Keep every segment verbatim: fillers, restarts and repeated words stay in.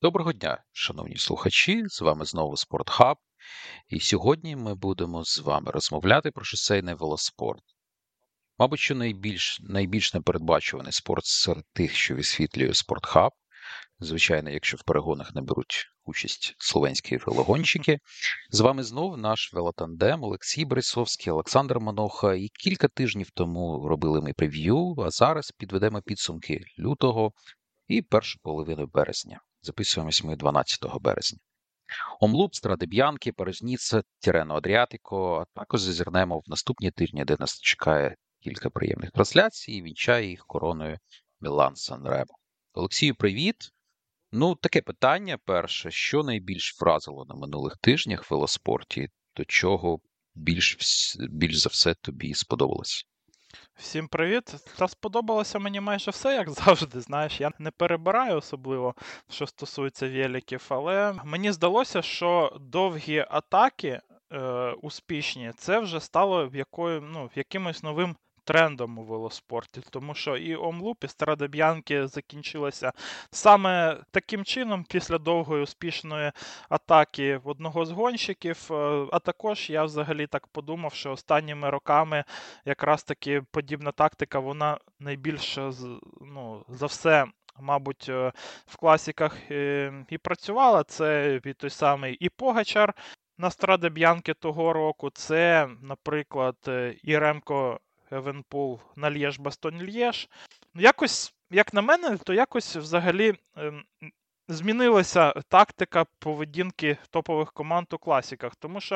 Доброго дня, шановні слухачі! З вами знову Спортхаб. І сьогодні ми будемо з вами розмовляти про шосейний велоспорт. Мабуть, що найбільш, найбільш непередбачуваний спорт серед тих, що висвітлює Спортхаб. Звичайно, якщо в перегонах не беруть участь словенські велогонщики. З вами знов наш велотандем Олексій Борисовський, Олександр Маноха. І кілька тижнів тому робили ми прев'ю, а зараз підведемо підсумки лютого і першу половину березня. Записуємось ми дванадцятого березня. Омлуп, Страде Б'янки, Пережніце, Тірено Адріатико, а також зазирнемо в наступні тижні, де нас чекає кілька приємних трансляцій і вінчає їх короною Мілан Сан-Ремо. Олексію, привіт! Ну, таке питання перше. Що найбільш вразило на минулих тижнях в велоспорті? До чого більш, більш за все тобі сподобалось? Всім привіт! Та сподобалося мені майже все, як завжди, знаєш, я не перебираю особливо, що стосується великів, але мені здалося, що довгі атаки е, успішні, це вже стало в якою, ну, якимось новим трендом у велоспорті, тому що і Омлуп, і Страде Б'янки закінчилося саме таким чином, після довгої успішної атаки в одного з гонщиків, е, а також я взагалі так подумав, що останніми роками якраз таки подібна тактика, вона найбільше ну, за все, мабуть, в класіках і працювала. Це і той самий і Погачар на Страде Б'янки того року, це, наприклад, і Ремко Евенпул на Лєж-Бастон-Лєж. Якось, як на мене, то якось взагалі змінилася тактика поведінки топових команд у класіках, тому що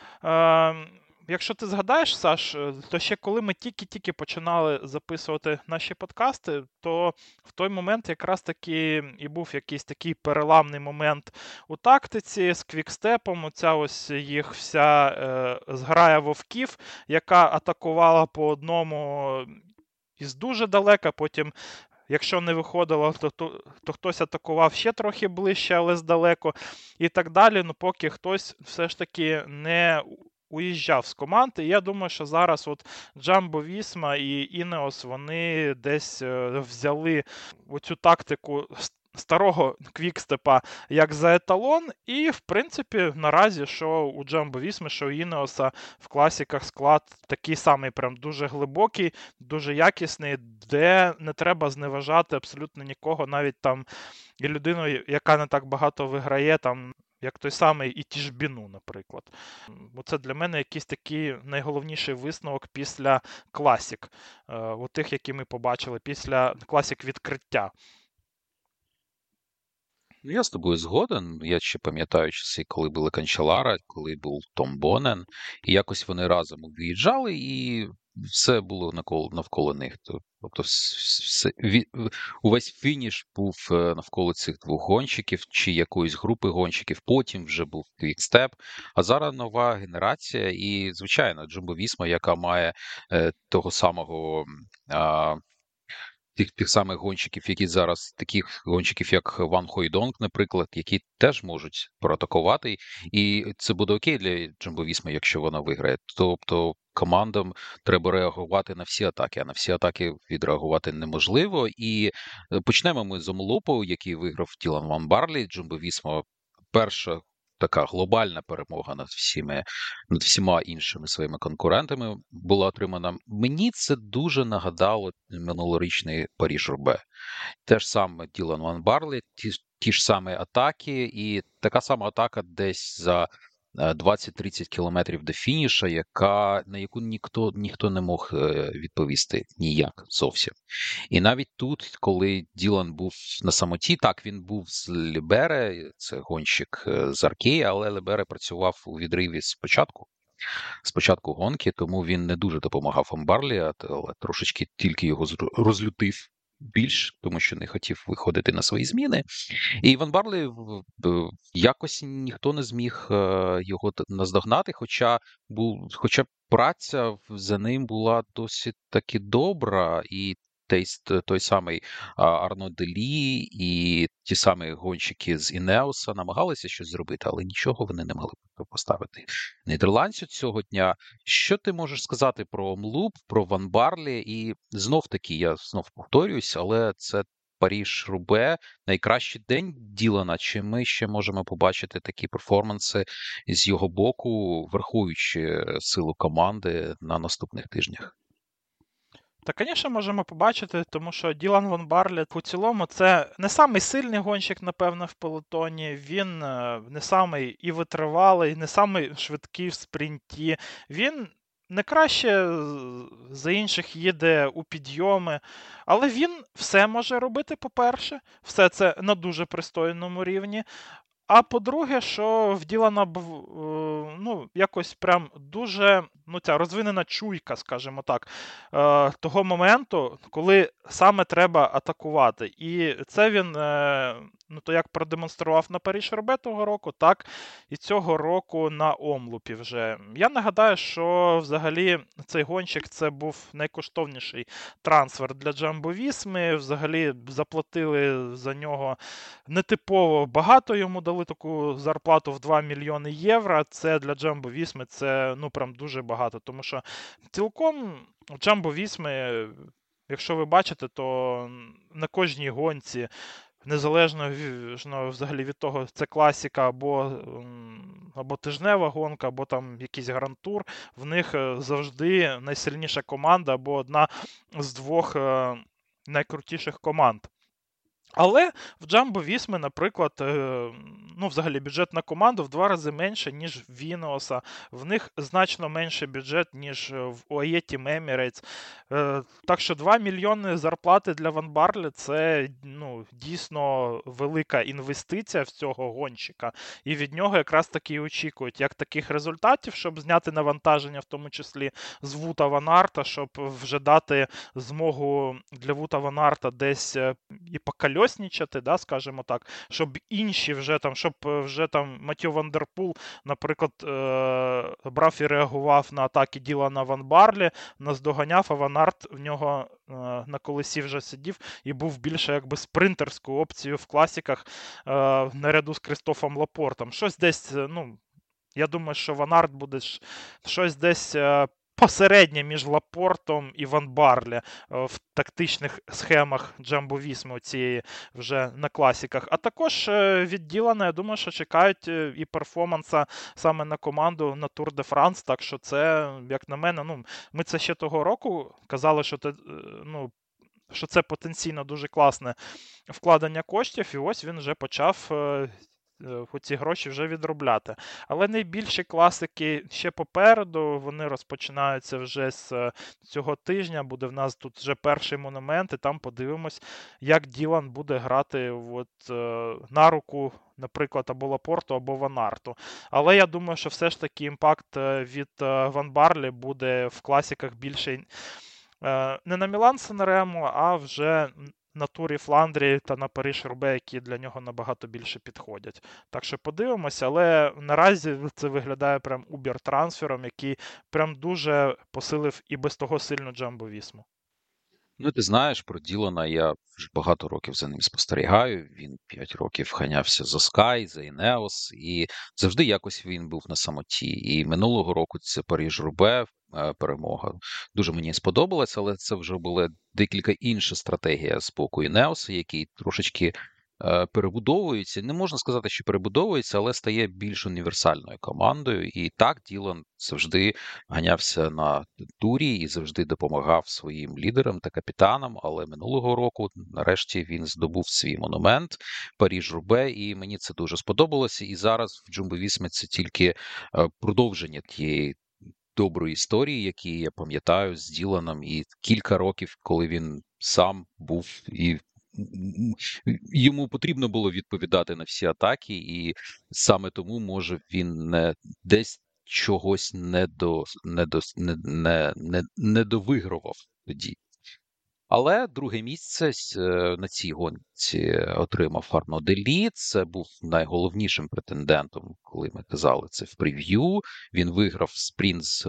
е, якщо ти згадаєш, Саш, то ще коли ми тільки-тільки починали записувати наші подкасти, то в той момент якраз таки і був якийсь такий переламний момент у тактиці з квікстепом, оця ось їх вся е, зграя вовків, яка атакувала по одному із дуже далека, потім якщо не виходило, то, то то, хтось атакував ще трохи ближче, але здалеку, і так далі, ну поки хтось все ж таки не уїжджав з команди. І я думаю, що зараз от Джамбо Вісма і Інеос, вони десь взяли оцю тактику старого квікстепа як за еталон, і, в принципі, наразі, що у Джамбо Вісми, що у Інеоса в класіках склад такий самий, прям дуже глибокий, дуже якісний, де не треба зневажати абсолютно нікого, навіть там і людину, яка не так багато виграє, там, як той самий і Тішбіну, наприклад. Оце для мене якийсь такий найголовніший висновок після класік, у тих, які ми побачили, після класік відкриття. Ну, я з тобою згоден. Я ще пам'ятаю часи, коли були Канчелара, коли був Том Бонен, і якось вони разом виїжджали, і все було навколо, навколо них. Тобто все, увесь фініш був навколо цих двох гонщиків чи якоїсь групи гонщиків, потім вже був квікстеп, а зараз нова генерація, і, звичайно, Джумбо Вісма, яка має е, того самого... Е, Тих тих самих гонщиків, які зараз, таких гонщиків, як Ван Хойдонг, наприклад, які теж можуть проатакувати, і це буде окей для Джамбо Вісми, якщо вона виграє. Тобто командам треба реагувати на всі атаки, а на всі атаки відреагувати неможливо. І почнемо ми з Омлопу, який виграв Ділан Ван Барлі. Джамбо Вісма перша така глобальна перемога над всіми, над всіма іншими своїми конкурентами була отримана. Мені це дуже нагадало минулорічний Паріж-Roubaix. Те ж саме Ділан Ван Барлі, ті, ті ж самі атаки, і така сама атака десь за двадцять-тридцять кілометрів до фініша, яка, на яку ніхто, ніхто не мог відповісти ніяк зовсім. І навіть тут, коли Ділан був на самоті, так, він був з Лібере, це гонщик з Аркеї, але Лібере працював у відриві спочатку. Спочатку гонки, тому він не дуже допомагав Амбарлі, але трошечки тільки його розлютив більш, тому що не хотів виходити на свої зміни. І Іван Барлі якось ніхто не зміг його наздогнати, хоча був, хоча праця за ним була досить таки добра, і той, той самий Арно Делі і ті самі гонщики з Інеоса намагалися щось зробити, але нічого вони не могли поставити нідерландцю цього дня. Що ти можеш сказати про Омлуп, про Ван Барлі? І знов таки, я знов повторююсь, але це Париж-Рубе найкращий день Ділана, чи ми ще можемо побачити такі перформанси з його боку, враховуючи силу команди на наступних тижнях? Та, звісно, можемо побачити, тому що Ділан Ван Барлет у цілому це не самий сильний гонщик, напевно, в пелотоні. Він е, не самий і витривалий, не самий швидкий в спринті. Він не краще з- за інших їде у підйоми, але він все може робити, по-перше, все це на дуже пристойному рівні. А по-друге, що в Ділана був, е, ну, якось прям дуже, ну, ця розвинена чуйка, скажімо так, е, того моменту, коли саме треба атакувати. І це він, е, ну, то як продемонстрував на Париж-Roubaix того року, так і цього року на Омлупі вже. Я нагадаю, що взагалі цей гонщик це був найкоштовніший трансфер для Джамбо-Вісми. Взагалі заплатили за нього нетипово багато, йому дали таку зарплату в два мільйони євро. Це для Джамбо Вісми це ну прям дуже багато. Тому що цілком у Джамбо Вісми, якщо ви бачите, то на кожній гонці, незалежно ну, взагалі від того, це класіка або або тижнева гонка, або там якийсь гранд-тур, в них завжди найсильніша команда або одна з двох найкрутіших команд. Але в Джамбо Вісми, наприклад, ну, взагалі бюджет на команду в два рази менше, ніж в Вінеоса. В них значно менше бюджет, ніж в у ей ай Team Emirates. Так що два мільйони зарплати для Ван Барлі – це ну, дійсно велика інвестиція в цього гонщика. І від нього якраз таки і очікують як таких результатів, щоб зняти навантаження, в тому числі з Вута Ван Арта, щоб вже дати змогу для Вута Ван Арта десь і покольоснічати, да, скажімо так, щоб інші вже там, щоб вже там Матьо Ван Дер Пул, наприклад, е- брав і реагував на атаки Ділана Ван Барлі, наздоганяв, а Ван Арт в нього е- на колесі вже сидів і був більше якби спринтерською опцією в класіках е- наряду з Крістофом Лапортом. Щось десь, ну, я думаю, що Ван Арт буде щось десь е- посереднє між Лапортом і Ван Барлі в тактичних схемах Джамбо Вісми цієї вже на класіках. А також від Ділана, я думаю, що чекають і перформанса саме на команду на Тур де Франс. Так що це, як на мене, ну, ми це ще того року казали, що це, ну, що це потенційно дуже класне вкладення коштів, і ось він вже почав ці гроші вже відробляти. Але найбільші класики ще попереду, вони розпочинаються вже з цього тижня, буде в нас тут вже перший монумент, і там подивимось, як Ділан буде грати от, на руку, наприклад, або Лапорту, або Ван Арту. Але я думаю, що все ж таки імпакт від Ван Барлі буде в класиках більше не на Мілан-Сан Ремо, а вже на турі Фландрії та на Париж-Roubaix, які для нього набагато більше підходять. Так що подивимося, але наразі це виглядає прям убер-трансфером, який прям дуже посилив і без того сильну Джамбо Вісму. Ну, ти знаєш, про Ділана я вже багато років за ним спостерігаю. Він п'ять років ганявся за Sky, за Ineos, і завжди якось він був на самоті. І минулого року це Париж-Roubaix, перемога. Дуже мені сподобалось, але це вже була декілька інша стратегія з боку Ineos, який трошечки перебудовується. Не можна сказати, що перебудовується, але стає більш універсальною командою. І так Ділан завжди ганявся на турі і завжди допомагав своїм лідерам та капітанам. Але минулого року, нарешті, він здобув свій монумент Париж-Roubaix, і мені це дуже сподобалося. І зараз в Джумбо-Вісмі це тільки продовження тієї доброї історії, які я пам'ятаю з Діланом, і кілька років, коли він сам був і йому потрібно було відповідати на всі атаки, і саме тому, може, він не десь чогось не до не до не, не, не, не довигравав тоді. Але друге місце на цій гонці отримав Арно Делі. Це був найголовнішим претендентом, коли ми казали це в прев'ю. Він виграв спринт з,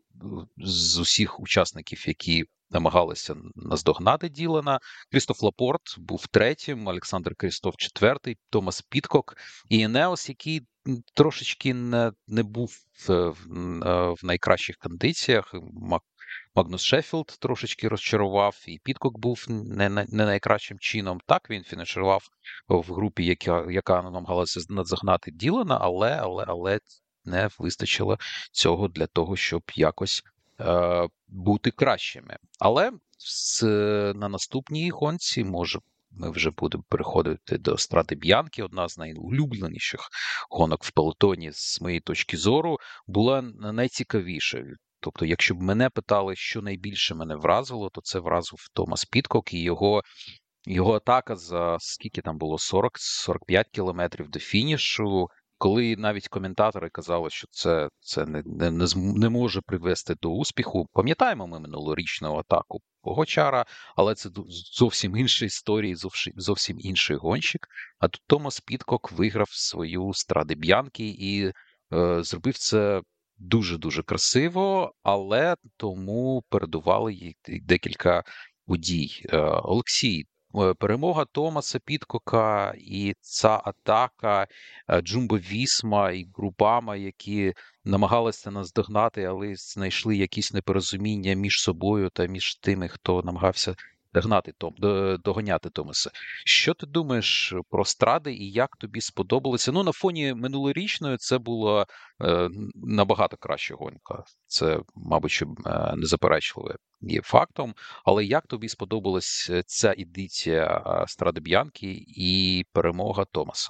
з усіх учасників, які намагалися наздогнати Ділана. Крістоф Лапорт був третім, Олександр Крістоф четвертий, Томас Підкок і Енеос, який трошечки не, не був в, в, в найкращих кондиціях. Магнус Шеффілд трошечки розчарував, і Підкок був не, не, не найкращим чином. Так, він фінішував в групі, яка, яка намагалася наздогнати Ділана, але, але, але не вистачило цього для того, щоб якось е, бути кращими. Але з, на наступній гонці, може, ми вже будемо переходити до Стради Б'янки, одна з найулюбленіших гонок в пелотоні, з моєї точки зору, була найцікавіша. Тобто, якщо б мене питали, що найбільше мене вразило, то це вразив Томас Підкок і його, його атака за скільки там було, сорок сорок п'ять кілометрів до фінішу, коли навіть коментатори казали, що це, це не, не, не, не може привести до успіху. Пам'ятаємо ми минулорічну атаку Погочара, але це зовсім інша історія, зовсім, зовсім інший гонщик. А тут Томас Підкок виграв свою Стради Б'янки і е, зробив це дуже-дуже красиво, але тому передували їй декілька подій. Е, Олексій, е, перемога Томаса Підкока і ця атака е, Джумбо-Вісма і Групама, які намагалися нас догнати, але знайшли якісь непорозуміння між собою та між тими, хто намагався догнати Том, доганяти Томаса. Що ти думаєш про Стради і як тобі сподобалося? Ну, на фоні минулорічної це була е, набагато краща гонка. Це, мабуть, що е, незаперечливе є фактом. Але як тобі сподобалась ця едиція е, Стради Б'янки і перемога Томаса?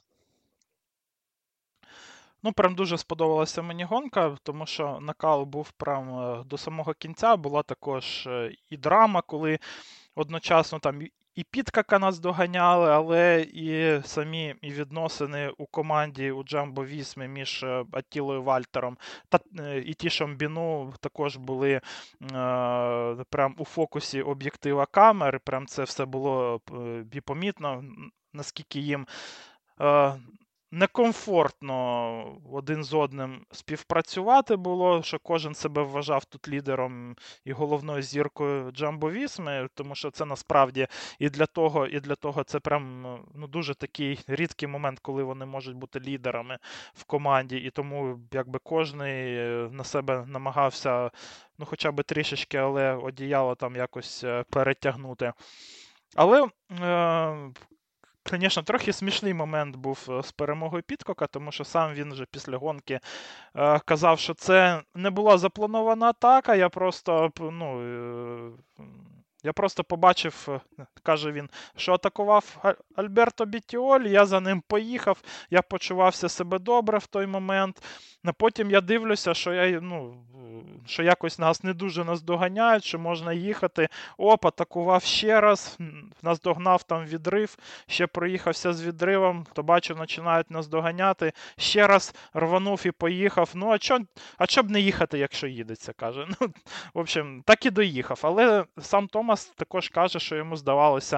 Ну, прям дуже сподобалася мені гонка, тому що накал був прям е, до самого кінця. Була також е, і драма, коли одночасно там і- і Підкака нас доганяли, але і самі і відносини у команді у Джамбо Вісмі між е, Аттілою Вальтером та е, і Тішом Біну також були е, прям у фокусі об'єктива камер. Прям це все було е, і помітно, н- наскільки їм е, некомфортно один з одним співпрацювати було, що кожен себе вважав тут лідером і головною зіркою Джамбо Вісми, тому що це насправді і для того, і для того це прям ну, дуже такий рідкий момент, коли вони можуть бути лідерами в команді, і тому якби кожний е, на себе намагався ну хоча б трішечки, але одіяло там якось е, перетягнути. Але е, Звісно, трохи смішний момент був е, з перемогою Підкока, тому що сам він вже після гонки е, казав, що це не була запланована атака. Я просто п- ну, е, я просто побачив, е, каже він, що атакував А- Альберто Бітіолі, я за ним поїхав, я почувався себе добре в той момент. А потім я дивлюся, що я, ну, е, що якось нас не дуже наздоганяють, що можна їхати. Оп, атакував ще раз, м, наздогнав там відрив, ще проїхався з відривом, то бачу, починають нас доганяти. Ще раз рванув і поїхав. Ну, а чо, а чо б не їхати, якщо їдеться, каже. Ну, в общем, так і доїхав. Але сам Томас також каже, що йому здавалося.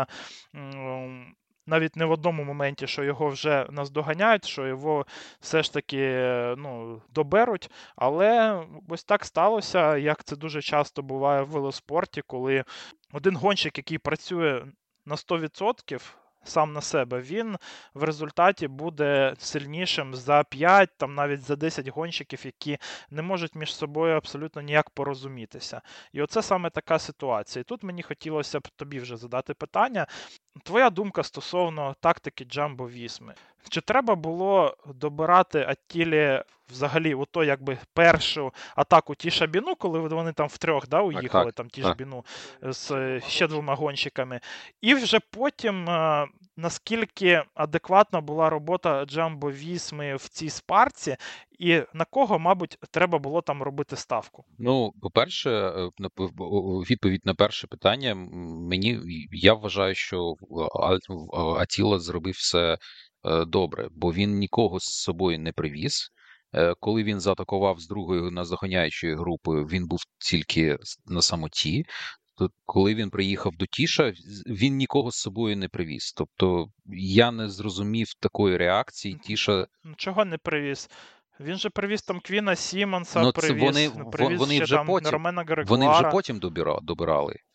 м, Навіть не в одному моменті, що його вже наздоганяють, що його все ж таки е, ну, доберуть. Але ось так сталося, як це дуже часто буває в велоспорті, коли один гонщик, який працює на сто відсотків сам на себе, він в результаті буде сильнішим за п'ять, там навіть за десять гонщиків, які не можуть між собою абсолютно ніяк порозумітися. І оце саме така ситуація. І тут мені хотілося б тобі вже задати питання. Твоя думка стосовно тактики Джамбо Вісми. Чи треба було добирати Аттілі взагалі ото якби першу атаку Тішабіну, коли вони там втрьох да, уїхали, Так, там так, так. Тішбіну з е, ще двома гонщиками. І вже потім, е, наскільки адекватна була робота Джамбо Вісми в цій спарці, і на кого, мабуть, треба було там робити ставку? Ну, по-перше, е, на п- в- о- відповідь на перше питання. м, Мені я вважаю, що А- А- Атіла зробив все е, добре, бо він нікого з собою не привіз. Е, Коли він заатакував з другою наздоганяючою групою, він був тільки с- на самоті. То коли він приїхав до Тіша, з- він нікого з собою не привіз. Тобто я не зрозумів такої реакції. Тіша, Ну, чого не привіз? Він же привіз там Квіна Сімонса, ну це вони привіз, во- привіз вони ще вже там потім, Ромена вони вже Грегуара. потім добира- добирали.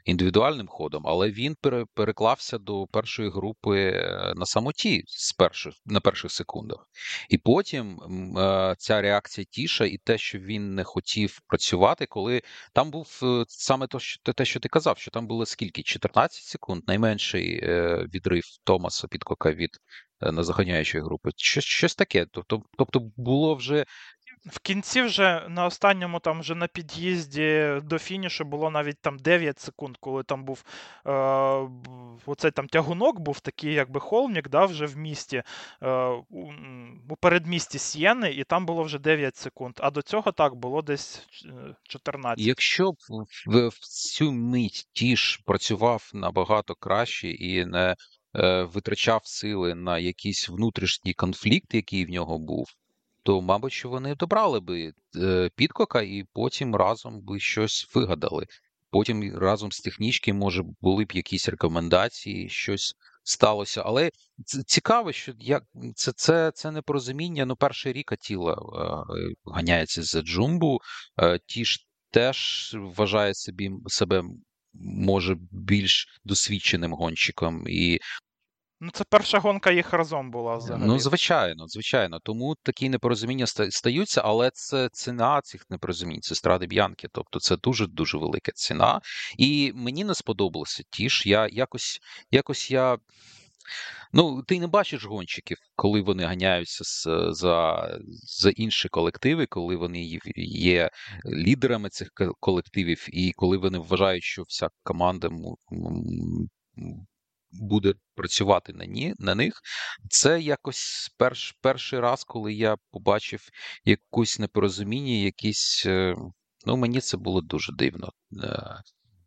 індивідуальним ходом, але він пере, переклався до першої групи е, на самоті з перших, на перших секундах. І потім м, е, ця реакція Тіша і те, що він не хотів працювати, коли там був е, саме то, що, те, те, що ти казав, що там було скільки? чотирнадцять секунд, найменший е, відрив Томаса Підкока від е, назаганяючої групи. Щось, щось таке. Тобто, тобто було вже В кінці вже на останньому, там вже на під'їзді до фінішу було навіть там дев'ять секунд, коли там був е, б- оцей там тягунок, був такий якби холмік, да, вже в місті, е, у, м, у передмісті Сієни, і там було вже дев'ять секунд. А до цього так було десь е, чотирнадцять. якщо б в, в цю мить Тіш працював набагато краще і не е, витрачав сили на якийсь внутрішній конфлікт, який в нього був, то, мабуть, що вони добрали би е, Підкока і потім разом би щось вигадали. Потім і разом з технічки, може, були б якісь рекомендації, щось сталося. Але ц- цікаво, що як це, це, це непорозуміння. Ну, перший рік Атіла е, ганяється за Джумбу. Е, ті ж теж вважає собі себе може більш досвідченим гонщиком, і Ну, це перша гонка їх разом була ну, взагалі. звичайно, звичайно. Тому такі непорозуміння ста- стаються, але це ціна цих непорозумінь, це стради Б'янки. Тобто це дуже-дуже велика ціна. І мені не сподобалося ті ж. Я якось, якось я. Ну, ти не бачиш гонщиків, коли вони ганяються з, за, за інші колективи, коли вони є є лідерами цих ко- колективів, і коли вони вважають, що вся команда м- м- м- буде працювати на, ні, на них. Це якось перш, перший раз, коли я побачив якусь непорозуміння, якісь. е, Ну, мені це було дуже дивно. Е,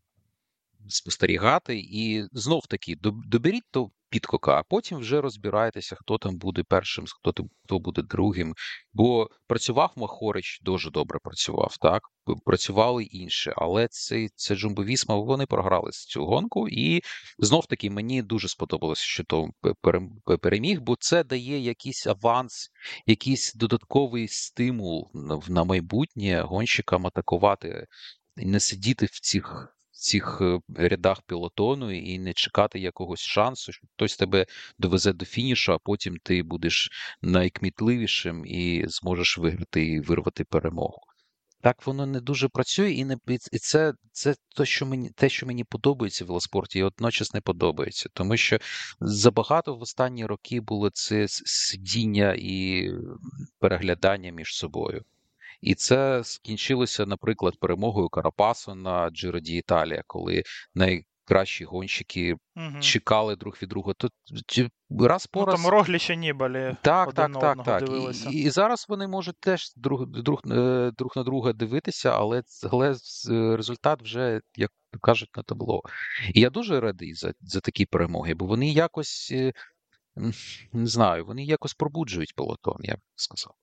спостерігати, і знов таки доб- доберіть то Підкока, а потім вже розбирайтеся, хто там буде першим, хто там хто буде другим. Бо працював Махорич, дуже добре працював, так П- працювали інші, але це, це Джумбо-Вісма, вони програли цю гонку, і знов таки мені дуже сподобалося, що то п- перем- переміг, бо це дає якийсь аванс, якийсь додатковий стимул на, в- на майбутнє гонщикам атакувати і не сидіти в цих в цих е, рядах пілотону і не чекати якогось шансу, що хтось тебе довезе до фінішу, а потім ти будеш найкмітливішим і зможеш виграти і вирвати перемогу. Так воно не дуже працює, і не і це, це те, що мені те, що мені подобається в велоспорті, і одночас не подобається, тому що забагато в останні роки було це с- сидіння і переглядання між собою. І це скінчилося, наприклад, перемогою Карапасу на Giro d'Italia, коли найкращі гонщики Угу. чекали друг від друга. Тут чи- раз по Ну там раз. Рогліч і Нібалі Так, один так, на так, одного так. І, дивилися. і зараз вони можуть теж друг, друг, е, друг на друга дивитися, але, ц- але з- е, результат вже, як то кажуть, на табло. І я дуже радий за, за такі перемоги, бо вони якось, е, м, не знаю, вони якось пробуджують пелотон, я б сказав.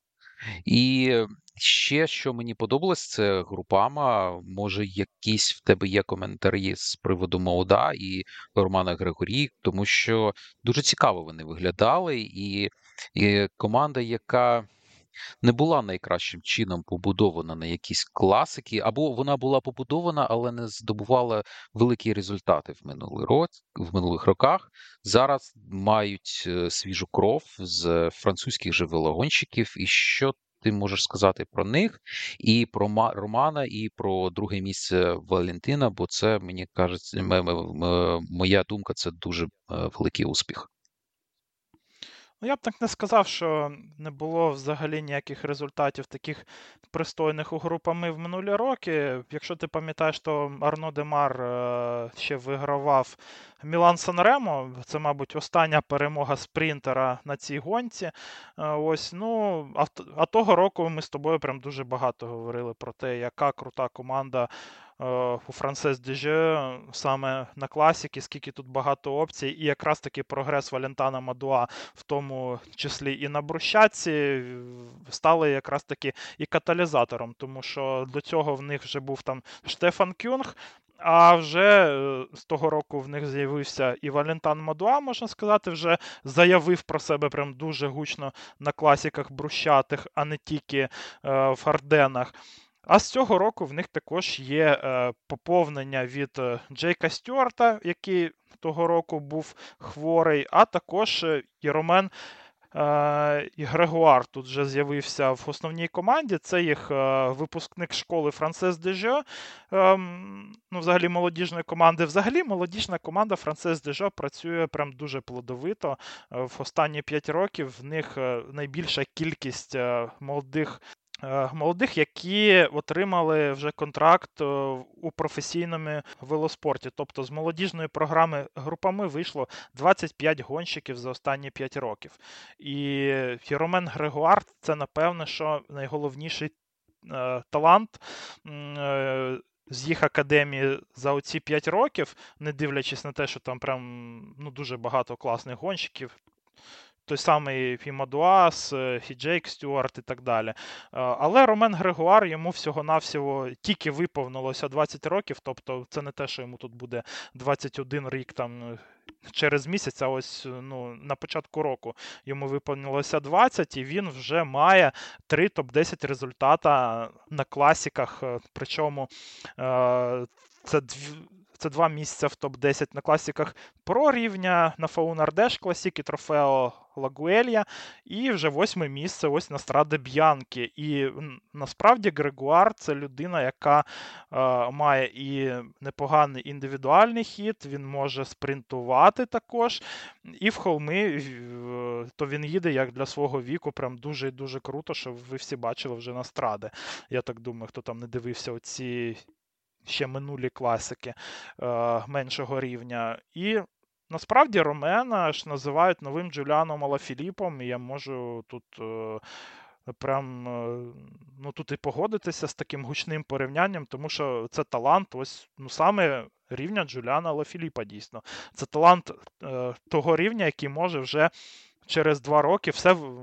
І ще, що мені подобалось, це групама. Може, якісь в тебе є коментарі з приводу Моуда і Романа Григорі, тому що дуже цікаво вони виглядали, і, і команда, яка не була найкращим чином побудована на якісь класики, або вона була побудована, але не здобувала великі результати в минулий рок, в минулих роках. Зараз мають е, свіжу кров з французьких же велогонщиків. І що ти можеш сказати про них, і про Ма- Романа, і про друге місце Валентина? Бо це, мені кажеться, м- м- м- моя думка, це дуже е, великий успіх. Ну, я б так не сказав, що не було взагалі ніяких результатів таких пристойних у групами в минулі роки. Якщо ти пам'ятаєш, то Арно Демар е, ще вигравав Мілан Санремо. Це, мабуть, остання перемога спринтера на цій гонці. Е, Ось, ну, а, в- а того року ми з тобою прям дуже багато говорили про те, яка крута команда е, у Франсес Деже саме на класіки, скільки тут багато опцій, і якраз таки прогрес Валентана Мадуа в тому числі і на брусчатці, стали якраз таки і каталізатором, тому що до цього в них вже був там Штефан Кюнг, а вже е, з того року в них з'явився і Валентан Мадуа, можна сказати, вже заявив про себе прям дуже гучно на класіках брусчатих, а не тільки е, в Арденах. А з цього року в них також є е, поповнення від е, Джейка Стюарта, який того року був хворий, а також е, і Ромен е, і Грегуар тут вже з'явився в основній команді. Це їх е, випускник школи Франсес Дежо, е, ну, взагалі молодіжної команди. Взагалі молодіжна команда Франсес Дежо працює прям дуже плодовито. Е, в останні п'ять років в них е, найбільша кількість е, молодих Е, молодих, які отримали вже контракт е, у професійному велоспорті. Тобто з молодіжної програми групами вийшло двадцять п'ять гонщиків за останні п'ять років. І Ромен Грегуар – це, напевне, що найголовніший е, талант е, з їх академії за оці п'ять років, не дивлячись на те, що там прям ну, дуже багато класних гонщиків. Той самий Фімадуас, і Джейк Стюарт і так далі. Але Ромен Грегуар, йому всього-навсього тільки виповнилося двадцять років, тобто це не те, що йому тут буде двадцять один рік там через місяць, а ось ну, на початку року йому виповнилося двадцять, і він вже має три топ десять результата на класіках, причому це дві Це два місця в топ десять на класіках про рівня на Faun Ardèche Classic і Трофео Лагуелья, і вже восьме місце ось на Страде Б'янкі. І насправді Грегуар – це людина, яка е, має і непоганий індивідуальний хід, він може спринтувати також, і в холми е, то він їде як для свого віку, прям дуже і дуже круто, що ви всі бачили вже на Страде. Я так думаю, хто там не дивився оці ще минулі класики е, меншого рівня. І насправді Ромена ж називають новим Джуліаном Алафіліпом, і я можу тут е, прям е, ну, тут і погодитися з таким гучним порівнянням, тому що це талант ось ну, саме рівня Джуліана Алафіліпа дійсно. Це талант е, того рівня, який може вже через два роки все в,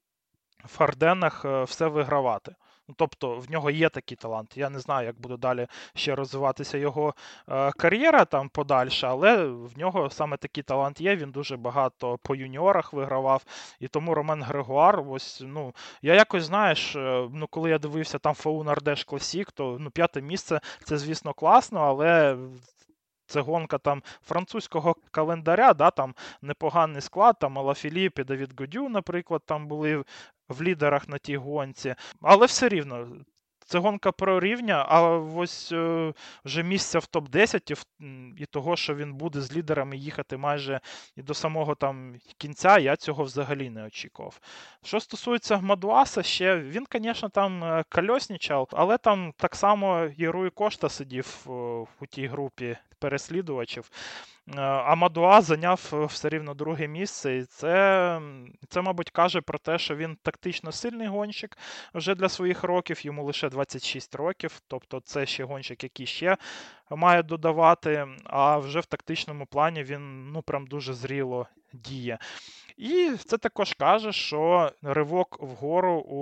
в Арденнах е, все вигравати. Тобто в нього є такий талант. Я не знаю, як буде далі ще розвиватися його е, кар'єра там подальше, але в нього саме такий талант є. Він дуже багато по юніорах вигравав. І тому Ромен Грегуар, ось, ну, я якось, знаєш, е, ну, коли я дивився там Faun Ardèche Classic, то ну, п'яте місце, це, звісно, класно, але це гонка там французького календаря, да, там непоганий склад, там Алафіліп і Давід Годю, наприклад, там були в лідерах на тій гонці. Але все рівно, це гонка про рівня, а ось е, вже місця в топ десять і, і того, що він буде з лідерами їхати майже і до самого там кінця, я цього взагалі не очікував. Що стосується Мадуаса, ще він, звісно, там кольоснічав, але там так само і Руй Кошта сидів у тій групі переслідувачів. А Мадуа зайняв все рівно друге місце, і це, це, мабуть, каже про те, що він тактично сильний гонщик вже для своїх років, йому лише двадцять шість років, тобто це ще гонщик, який ще має додавати, а вже в тактичному плані він, ну, прям дуже зріло діє. І це також каже, що ривок вгору у,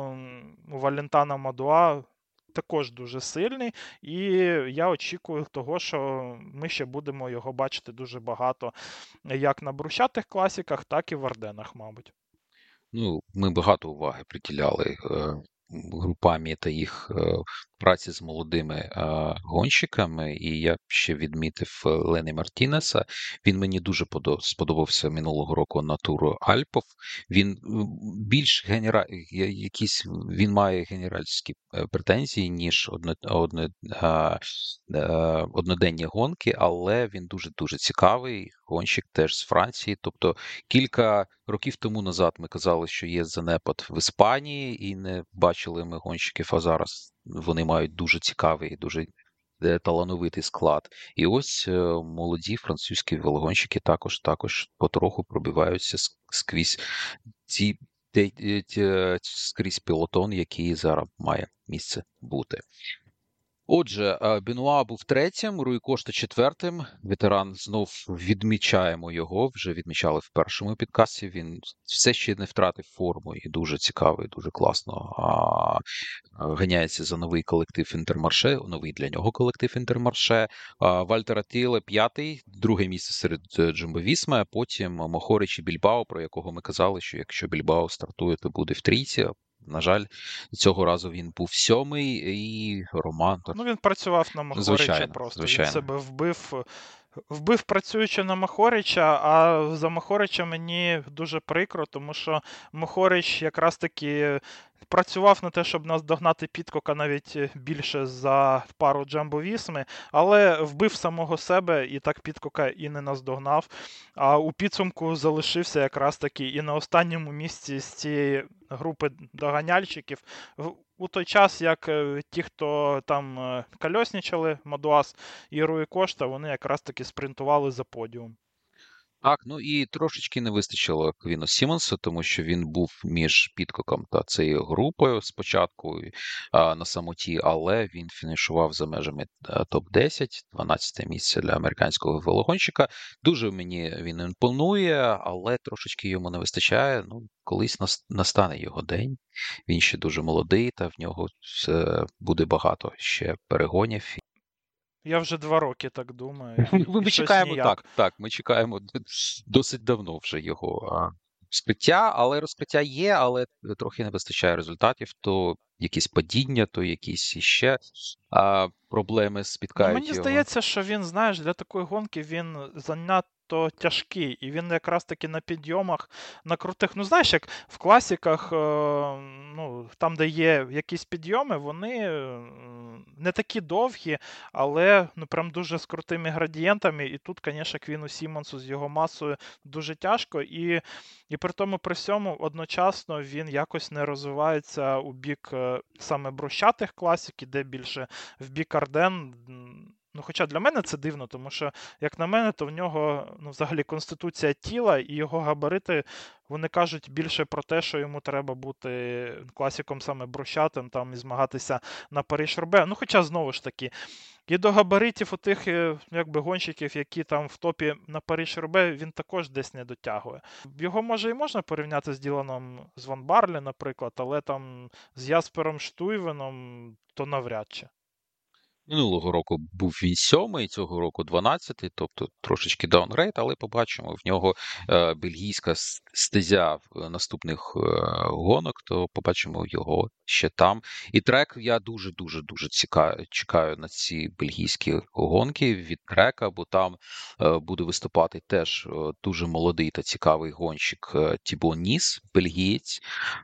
у Валентана Мадуа також дуже сильний, і я очікую того, що ми ще будемо його бачити дуже багато як на брусчатих класіках, так і в Арденах, мабуть. Ну, ми багато уваги приділяли е, групамі та їх е, праці з молодими е, гонщиками, і я ще відмітив Лені Мартінеса. Він мені дуже подо- сподобався минулого року на туру Альпов. Він е, більш генера... я- якісь він має генеральські е, претензії, ніж одно... одно... е, е, одноденні гонки, але він дуже-дуже цікавий. Гонщик теж з Франції. Тобто кілька років тому назад ми казали, що є занепад в Іспанії, і не бачили ми гонщиків, а зараз вони мають дуже цікавий, дуже е, талановитий склад. І ось е, молоді французькі велогонщики також також потроху пробиваються с- скрізь ці те- е, ті- скрізь пілотон, який зараз має місце бути. Отже, е, Бенуа був третім, Руй Кошта четвертим. Ветеран, знов відмічаємо його, вже відмічали в першому підкасті. Він все ще не втратив форму і дуже цікавий, дуже класно а, ганяється за новий колектив Інтермарше, новий для нього колектив Інтермарше. А, Вальтер Атіле п'ятий, друге місце серед Джумбо Вісми, а потім Мохорич і Більбао, про якого ми казали, що якщо Більбао стартує, то буде в трійці. На жаль, цього разу він був сьомий, і Роман... Ну, він працював на Махорича Звичайно, просто. Він звичайно. себе вбив, вбив працюючи на Махорича, а за Махорича мені дуже прикро, тому що Махорич якраз таки працював на те, щоб наздогнати Підкока навіть більше за пару Джамбо-Вісми, але вбив самого себе і так Підкока і не наздогнав. А у підсумку залишився якраз таки і на останньому місці з цієї групи доганяльщиків. В- У той час, як е, ті, хто там е, кольоснічали, Мадуас і Руї Кошта, вони якраз таки спринтували за подіум. Так, ну і трошечки не вистачило Квіну Сімонсу, тому що він був між Підкоком та цією групою спочатку і, а, на самоті, але він фінішував за межами е, топ десять, дванадцяте місце для американського велогонщика. Дуже мені він імпонує, але трошечки йому не вистачає. Ну, колись нас- настане його день. Він ще дуже молодий, та в нього все буде багато ще перегонів. Я вже два роки так думаю, і, Ми і ми щось чекаємо так, ніяк. так, ми чекаємо д- досить давно вже його а, розкриття, але розкриття є, але трохи не вистачає результатів. То якісь падіння, то якісь іще а, проблеми Ну, спіткають мені його. здається, що він, знаєш, для такої гонки він занадто тяжкий, і він якраз таки на підйомах, на крутих. Ну, знаєш, як в класіках, е, ну, там, де є якісь підйоми, вони е, не такі довгі, але ну, прям дуже з крутими градієнтами. І тут, звісно, Квіну Сімонсу з його масою дуже тяжко. І, і при тому, при всьому, одночасно він якось не розвивається у бік е, саме брусчатих класік, де більше в бік Арден. Ну, хоча для мене це дивно, тому що, як на мене, то в нього ну, взагалі конституція тіла і його габарити, вони кажуть більше про те, що йому треба бути класиком саме брусчатим, там і змагатися на Париж-Roubaix. Ну, хоча знову ж таки, і до габаритів у тих е, якби, гонщиків, які там в топі на Париж-Roubaix, він також десь не дотягує. Його може і можна порівняти з Діланом з Ван Барлі, наприклад, але там з Яспером Штуйвеном то навряд чи. Минулого року був він сьомий, цього року дванадцятий, тобто трошечки даунгрейд, але побачимо, в нього е, бельгійська с- стезя в е, наступних е, гонок, то побачимо його ще там. І трек я дуже-дуже-дуже ціка- чекаю на ці бельгійські гонки від трека, бо там е, буде виступати теж е, дуже молодий та цікавий гонщик е, Тібо Ніс, бельгієць.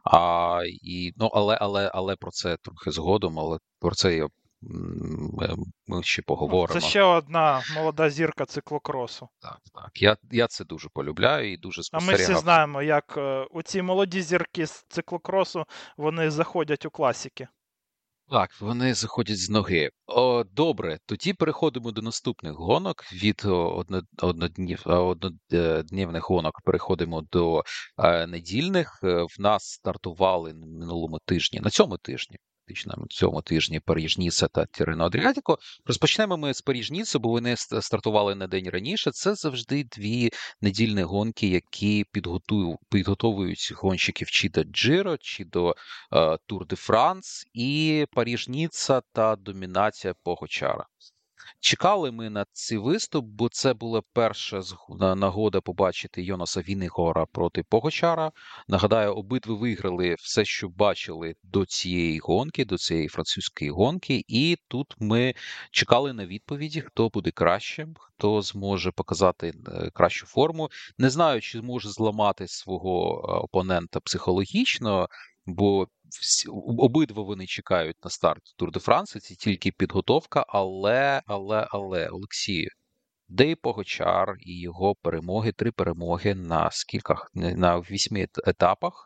А, і, ну, але, але, але про це трохи згодом, але про це я М, Ми ми ще Ну, це поговоримо. ще одна молода зірка циклокросу. Так, так. Я, я це дуже полюбляю і дуже А ми всі спостерігав. знаємо, як е, оці молоді зірки з циклокросу, вони заходять у класики. Так, вони заходять з ноги. О, добре, тоді переходимо до наступних гонок. Від о, одно, одноднів, а, однодневних гонок переходимо до е, недільних. Е, В нас стартували на минулому тижні, на цьому тижні. Фактично, на цьому тижні Паріж-Ніса та Тірено Адріатіко. Розпочнемо ми з Паріж-Ніса, бо вони ст- стартували на день раніше. Це завжди дві недільні гонки, які підготують, підготовують гонщиків чи до Джиро, чи до е, Тур де Франс і Паріж-Ніцца та домінація Погочара. Чекали ми на цей виступ, бо це була перша зг- на- нагода побачити Йонаса Віннігора проти Погочара. Нагадаю, обидва виграли все, що бачили до цієї гонки, до цієї французької гонки. І тут ми чекали на відповіді, хто буде кращим, хто зможе показати е, кращу форму. Не знаю, чи зможе зламати свого е, опонента психологічно, бо всі, обидва вони чекають на старт Тур де Франс, це тільки підготовка, але, але, але, Олексію, де і Погочар, і його перемоги, три перемоги на скількох, на вісьми етапах,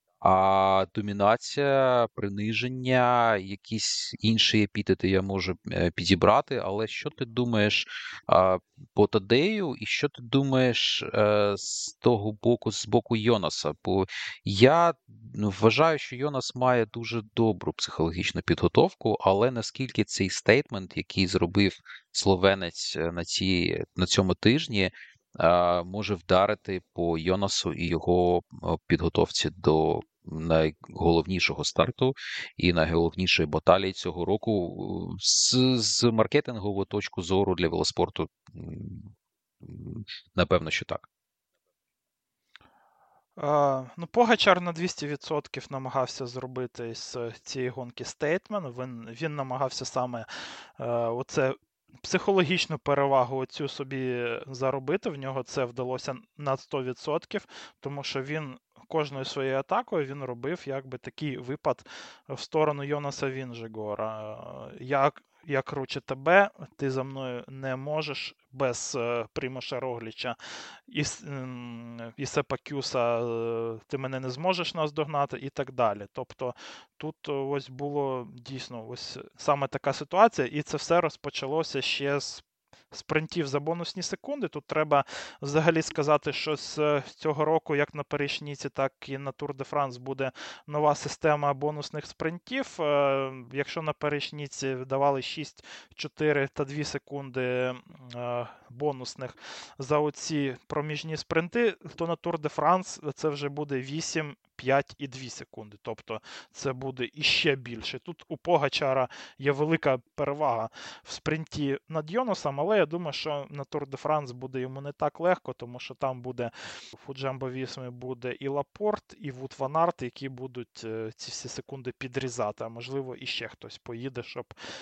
а домінація, приниження, якісь інші епітети я можу е, підібрати, але що ти думаєш а, по Тадею, і що ти думаєш е, з того боку, з боку Йонаса? Бо я ну, вважаю, що Йонас має дуже добру психологічну підготовку, але наскільки цей стейтмент, який зробив словенець е, на ці, на цьому тижні, е, може вдарити по Йонасу і його е, підготовці до найголовнішого старту і найголовнішої баталії цього року з, з маркетингової точки зору для велоспорту, м, м, напевно, що так. А, ну, Погачар на двісті відсотків намагався зробити з цієї гонки стейтмент. Він, він намагався саме е, оце психологічну перевагу оцю собі заробити. В нього це вдалося на сто відсотків, тому що він кожною своєю атакою він робив якби такий випад в сторону Йонаса Вінжегора. Я, я круче тебе, ти за мною не можеш без е, Примуша Рогліча і, м, і Сепа Кюса, е, ти мене не зможеш наздогнати і так далі. Тобто тут е, ось було дійсно ось саме така ситуація, і це все розпочалося ще з спринтів за бонусні секунди. Тут треба взагалі сказати, що з цього року, як на Париж-Ніці, так і на Тур де Франс буде нова система бонусних спринтів. Е, Якщо на Париж-Ніці давали шість, чотири та дві секунди е, бонусних за оці проміжні спринти, то на Тур де Франс це вже буде вісім, п'ять і дві секунди. Тобто це буде іще більше. Тут у Погачара є велика перевага в спринті над Йонасом, але я думаю, що на Тур де Франс буде йому не так легко, тому що там буде у Джамбо Вісми буде і Лапорт, і Вуд Ван Арт, які будуть е, ці всі секунди підрізати. А можливо, іще хтось поїде, щоб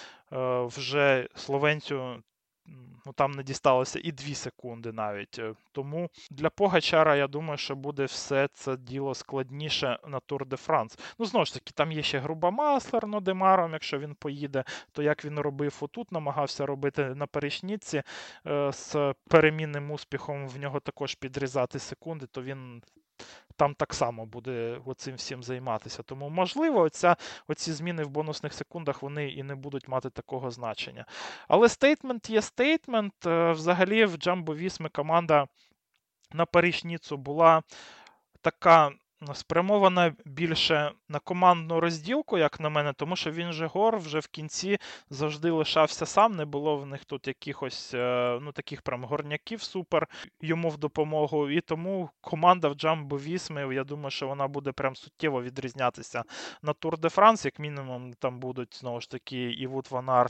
е, вже словенцю ну, там не дісталося і дві секунди навіть. Тому для Погачара, я думаю, що буде все це діло складніше на Тур де Франс. Ну, знову ж таки, там є ще Груба Маслер, ну, Демаром, якщо він поїде, то як він робив отут, намагався робити на Перешніці е, з перемінним успіхом, в нього також підрізати секунди, то він там так само буде оцим всім займатися. Тому, можливо, оця, оці зміни в бонусних секундах, вони і не будуть мати такого значення. Але стейтмент є стейтмент. Взагалі, в Джамбо Вісми команда на Париж-Ніцу була така спрямована більше на командну розділку, як на мене, тому що він же Гор вже в кінці завжди лишався сам, не було в них тут якихось ну, таких прям горняків супер йому в допомогу, і тому команда в Джамбо Вісми, я думаю, що вона буде прям суттєво відрізнятися на Тур де Франс, як мінімум там будуть, знову ж таки, і Вуд Ван Арт,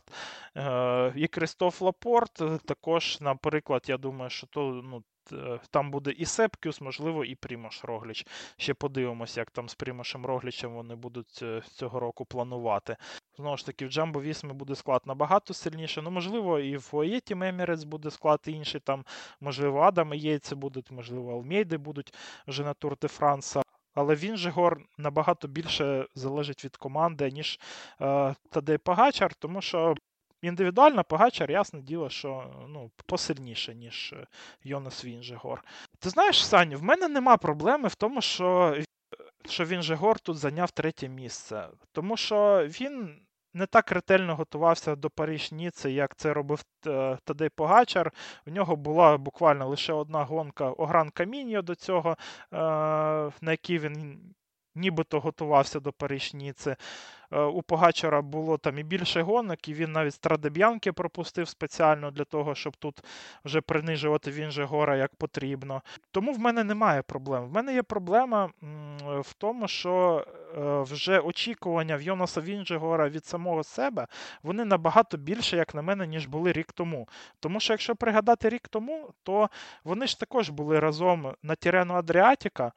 і Крістоф Лапорт, також, наприклад, я думаю, що то, ну, там буде і Сеп Кюс, можливо, і Примуш Рогліч. Ще подивимося, як там з Примушем Роглічем вони будуть цього року планувати. Знову ж таки, в Джамбо Вісми буде склад набагато сильніше. Ну, можливо, і в Оєті Мемірець буде склад інший, там, можливо, Адам і Єйце будуть, можливо, Алмейди будуть вже на Тур де Франса. Але він же Гор набагато більше залежить від команди, ніж е, Тадей Погачар, тому що індивідуально Погачар, ясне діло, що ну, посильніше, ніж Йонас Вінжегор. Ти знаєш, Саню, в мене нема проблеми в тому, що, що Вінжегор тут зайняв третє місце. Тому що він не так ретельно готувався до Париж-Ніци, як це робив Тадей Погачар. У нього була буквально лише одна гонка Огран Каміньо до цього, на якій він нібито готувався до Париж-Ніци. У Погачара було там і більше гонок, і він навіть Страдеб'янки пропустив спеціально для того, щоб тут вже принижувати Вінжегора як потрібно. Тому в мене немає проблем. В мене є проблема в тому, що вже очікування в Йонаса Вінжегора від самого себе, вони набагато більше, як на мене, ніж були рік тому. Тому що, якщо пригадати рік тому, то вони ж також були разом на Тірену Адріатіка,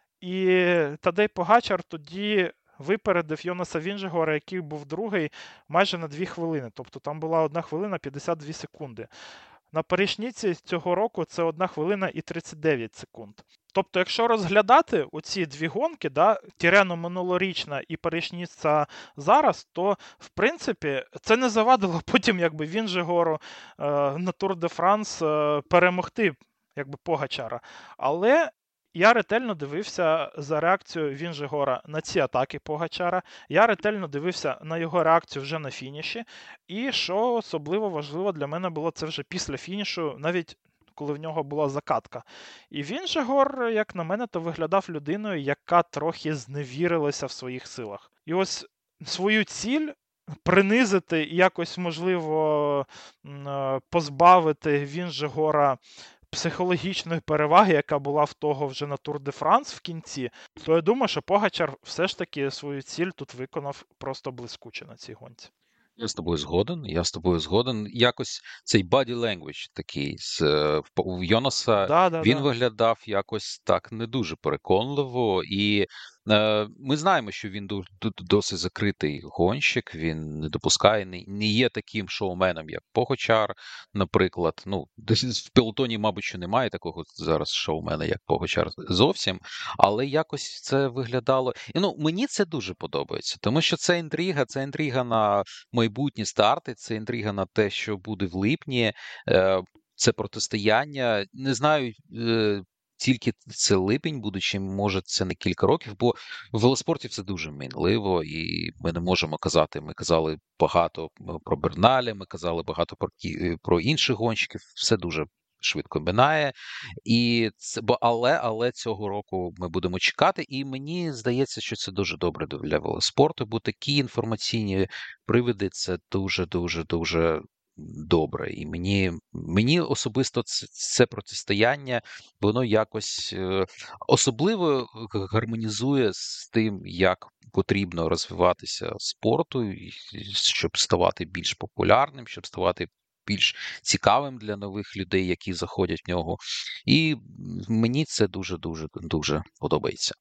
і Тадей Погачар тоді випередив Йонаса Вінжегора, який був другий, майже на дві хвилини. Тобто там була одна хвилина п'ятдесят дві секунди. На Париж-Ніці цього року це одна хвилина і тридцять дев'ять секунд. Тобто, якщо розглядати оці дві гонки, да, Тірено минулорічна і Париж-Ніця зараз, то, в принципі, це не завадило потім якби Вінжегору е, на Тур де Франс е, перемогти якби Погачара. Але я ретельно дивився за реакцією Вінжегора на ці атаки Погачара. Я ретельно дивився на його реакцію вже на фініші. І що особливо важливо для мене було, це вже після фінішу, навіть коли в нього була закатка. І Вінжегор, як на мене, то виглядав людиною, яка трохи зневірилася в своїх силах. І ось свою ціль принизити і якось, можливо, позбавити Вінжегора психологічної переваги, яка була в того вже на Тур де Франс в кінці, то я думаю, що Погачар все ж таки свою ціль тут виконав просто блискуче на цій гонці. Я з тобою згоден, я з тобою згоден. Якось цей body language такий з е, в по- в Йонаса, він Да-да-да. виглядав якось так не дуже переконливо, і е, ми знаємо, що він ду- ду- досить закритий гонщик, він не допускає, не, не є таким шоуменом, як Погочар, наприклад. Ну, десь в пелотоні, мабуть, що немає такого зараз шоумена, як Погочар зовсім, але якось це виглядало. І ну, мені це дуже подобається, тому що це інтрига, це інтрига на майбутні старти, це інтрига на те, що буде в липні, е, це протистояння. Не знаю, е, тільки це липень буде, чи може це не кілька років, бо в велоспорті це дуже мінливо, і ми не можемо казати. Ми казали багато е, про Берналя, ми казали багато про, кі- е, про інших гонщиків, все дуже швидко минає. І це, бо але, але цього року ми будемо чекати, і мені здається, що це дуже добре для велоспорту, бо такі інформаційні привиди це дуже, дуже, дуже добре. І мені, мені особисто це, це протистояння, воно якось е, особливо г- гармонізує з тим, як потрібно розвиватися спорту, і щоб ставати більш популярним, щоб ставати більш цікавим для нових людей, які заходять в нього. І мені це дуже дуже дуже подобається.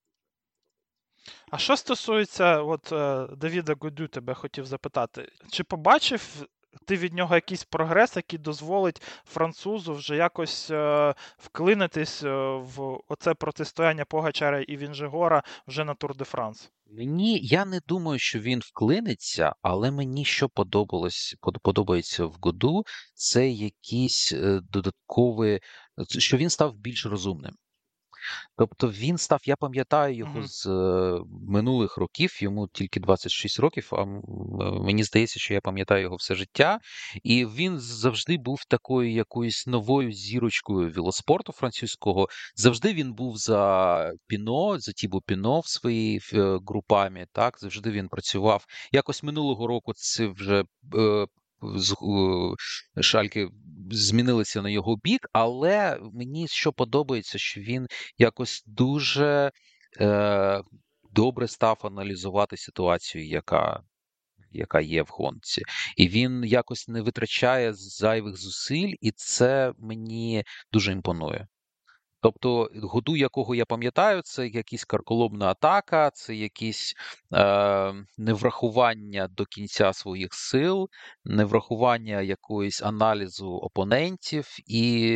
А що стосується от, е, Давіда Гудю, тебе хотів запитати, чи побачив ти від нього якийсь прогрес, який дозволить французу вже якось е, вклинитись е, в оце протистояння Погачара і Вінжегора вже на Тур де Франс? Мені я не думаю, що він вклиниться, але мені що подобалось под- подобається в Году, це якісь е, додаткові, це- що він став більш розумним. Тобто він став, я пам'ятаю його Угу. з е, минулих років, йому тільки двадцять шість років, а м, е, мені здається, що я пам'ятаю його все життя. І він завжди був такою якоюсь новою зірочкою велоспорту французького. Завжди він був за Піно, за Тібо Піно в своїй е, групамі. Так, завжди він працював. Якось минулого року це вже. е, з- е, Шальки змінилися на його бік, але мені що подобається, що він якось дуже е, добре став аналізувати ситуацію, яка, яка є в гонці. І він якось не витрачає зайвих зусиль, і це мені дуже імпонує. Тобто, году, якого я пам'ятаю, це якась карколомна атака, це якісь е, неврахування до кінця своїх сил, неврахування якоїсь аналізу опонентів, і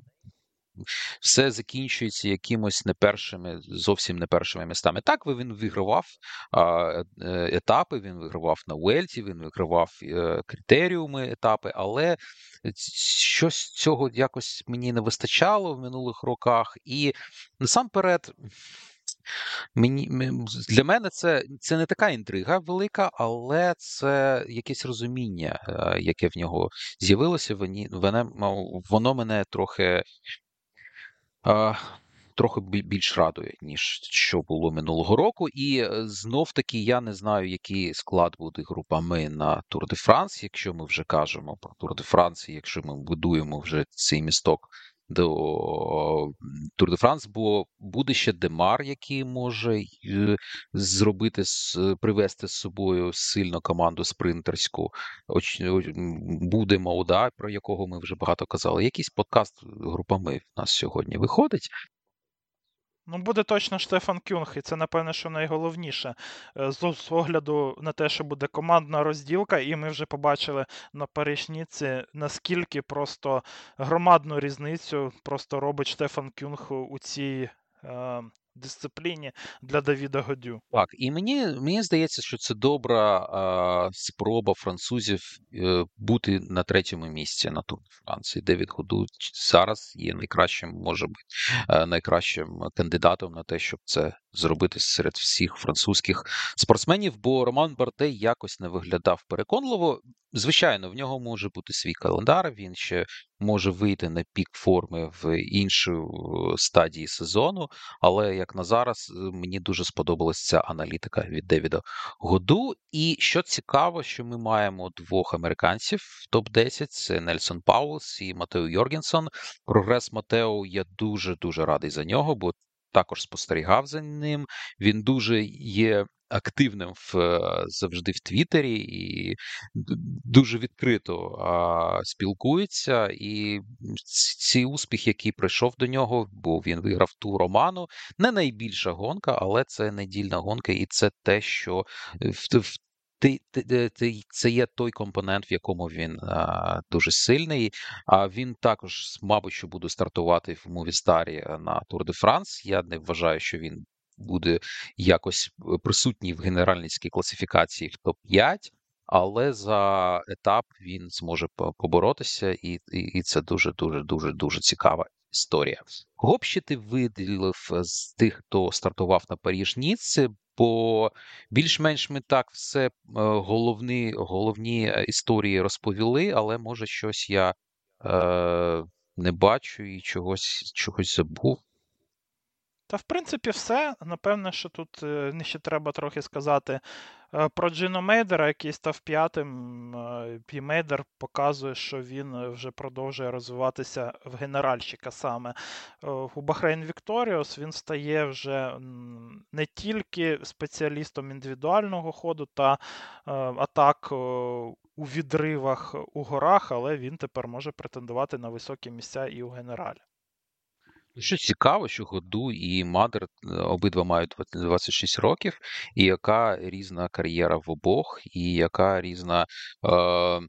все закінчується якимось не першими, зовсім не першими містами. Так, він вигравав а, е, етапи, він вигравав на Уельті, він вигравав е, критеріуми етапи, але щось цього якось мені не вистачало в минулих роках. І насамперед, мені м- для мене це, це не така інтрига велика, але це якесь розуміння, е, яке в нього з'явилося. Воні- Воно, воно мене трохи а, трохи бі- більш радує, ніж що було минулого року. І е, знов таки я не знаю, який склад буде групами на Тур де Франс, якщо ми вже кажемо про Тур де Франс, і якщо ми будуємо вже цей місток до м, Тур де Франс, бо буде ще Демар, який може е, зробити з привести з собою сильну команду спринтерську. Оч, о- м, буде Мауда, про якого ми вже багато казали. Якийсь подкаст групами в нас сьогодні виходить. Ну, буде точно Штефан Кюнг, і це, напевне, що найголовніше. Е, З з огляду на те, що буде командна розділка, і ми вже побачили на Париж-Ніці, наскільки просто громадну різницю просто робить Штефан Кюнг у у цій е, дисципліні для Давіда Годю. Так, і мені, мені здається, що це добра а, спроба французів е, бути на третьому місці на Тур де Франції. Девід Году зараз є найкращим, може бути, е, найкращим кандидатом на те, щоб це зробити серед всіх французьких спортсменів, бо Роман Бартей якось не виглядав переконливо. Звичайно, в нього може бути свій календар, він ще може вийти на пік форми в іншій стадії сезону. Але як на зараз, е, мені дуже сподобалася ця аналітика від Девіда Году. І що цікаво, що ми маємо двох американців в топ десять: це Нельсон Паулс і Матео Йоргенсон. Прогрес Матео, я дуже дуже радий за нього, бо також спостерігав за ним. Він дуже є активним в, е, завжди в Твіттері і д- дуже відкрито а, спілкується. І ц- ці успіх, який прийшов до нього, бо він виграв ту Роману, не найбільша гонка, але це недільна гонка, і це те, що в, в ти, ти, ти- ти- це є той компонент, в якому він а, дуже сильний. А він також, мабуть, що буде стартувати в Мувістарі на Тур де Франс. Я не вважаю, що він буде якось присутній в генеральницькій класифікації в топ п'ять, але за етап він зможе по- поборотися, і, і, і це дуже, дуже, дуже, дуже цікава історія. Кого б ще ти виділив з тих, хто стартував на Паріж-Ніцце? Бо більш-менш ми так все е, головні, головні е, історії розповіли, але може щось я е, не бачу і чогось, чогось забув. Та, в принципі, все. Напевне, що тут е, ще треба трохи сказати е, про Джино Мейдера, який став п'ятим. Е, І Мейдер показує, що він е, вже продовжує розвиватися в генеральщика саме. Е, У Бахрейн Вікторіос він стає вже м, не тільки спеціалістом індивідуального ходу та е, атак е, у відривах у горах, але він тепер може претендувати на високі місця і у генералі. Ну, що цікаво, що Году і Мадер е, обидва мають двадцять шість років, і яка різна кар'єра в обох, і яка різна е,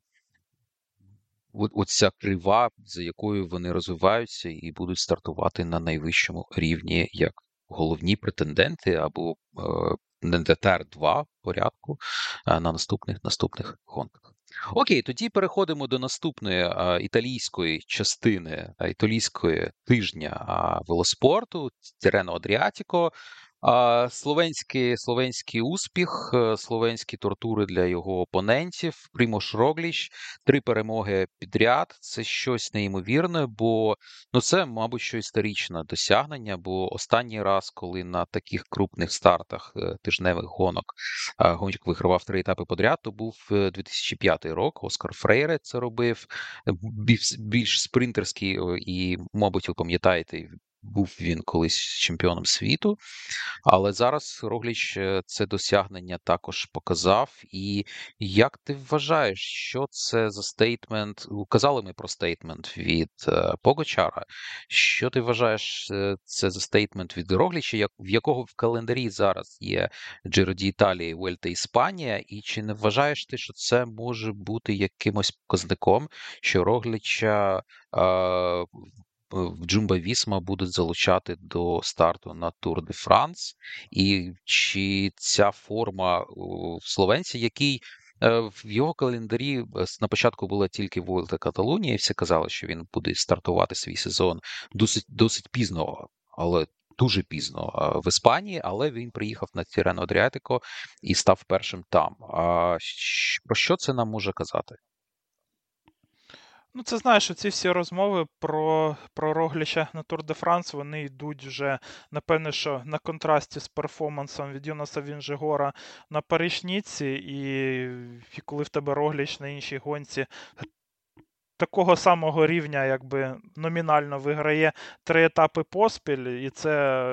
от- оця крива, за якою вони розвиваються і будуть стартувати на найвищому рівні як головні претенденти або е, не Тер два порядку е, на наступних наступних гонках. Окей, тоді переходимо до наступної е, італійської частини е, італійської тижня е, велоспорту Тірено Адріатіко. А, Словенський, словенський успіх, е, словенські тортури для його опонентів. Прimož Roglič, три перемоги підряд. Це щось неймовірне, бо ну це, мабуть, що історичне досягнення. Бо останній раз, коли на таких крупних стартах е, тижневих гонок е, гонщик вигравав три етапи подряд, то був е, дві тисячі п'ятий рік. Оскар Фрейре це робив. Е, Більш, більш спринтерський, е, і, мабуть, ви пам'ятаєте, був він колись чемпіоном світу. Але зараз Рогліч е, це досягнення також показав. І як ти вважаєш, що це за стейтмент? Казали ми про стейтмент від е, Погачара. Що ти вважаєш, е, це за стейтмент від Рогліча, як, в якого в календарі зараз є Джиро ді Італії, Вельта Іспанія, і чи не вважаєш ти, що це може бути якимось показником, що Рогліча е, в Джумба Вісма будуть залучати до старту на Тур де Франс, і чи ця форма о, в словенці, який е, в його календарі е, на початку була тільки Вольта Каталунія, і всі казали, що він буде стартувати свій сезон досить досить пізно, але дуже пізно е, в Іспанії, але він приїхав на Тірено Адріатико і став першим там. А щ- про що це нам може казати? Ну, це знаєш, ці всі розмови про, про Рогліча на Тур де Франс, вони йдуть вже, напевне, що на контрасті з перформансом від Йонаса Вінжегора на Париж-Ніцці, і, і коли в тебе Рогліч на іншій гонці такого самого рівня, якби номінально виграє три етапи поспіль, і це.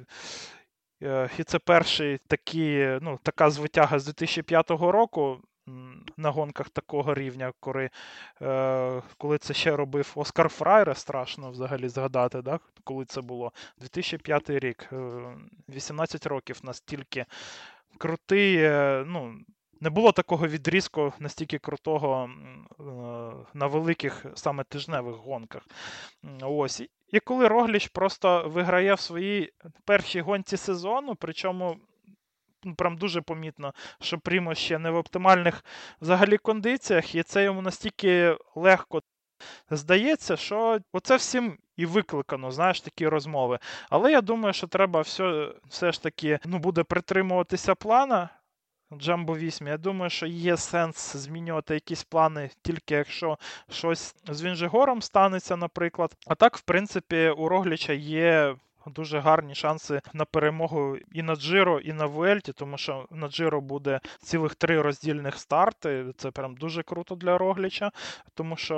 е, І це перший такі, ну, така звитяга з дві тисячі п'ятого року м, на гонках такого рівня, коли, е, коли це ще робив Оскар Фрайре, страшно взагалі згадати, да? Коли це було. дві тисячі п'ятий рік, е, вісімнадцять років настільки крутий, е, ну, не було такого відрізку настільки крутого м, е, на великих саме тижневих гонках. М, Ось. І і коли Рогліч просто виграє в своїй першій гонці сезону, причому ну, прям дуже помітно, що Прімо ще не в оптимальних взагалі кондиціях, і це йому настільки легко здається, що оце всім і викликано, знаєш, такі розмови. Але я думаю, що треба все, все ж таки ну, буде притримуватися плана. Джамбо вісім. Я думаю, що є сенс змінювати якісь плани, тільки якщо щось з Вінжегором станеться, наприклад. А так, в принципі, у Рогліча є дуже гарні шанси на перемогу і на Джиро, і на Vuelті, тому що на Джиро буде цілих три роздільних старти. Це прям дуже круто для Рогліча, тому що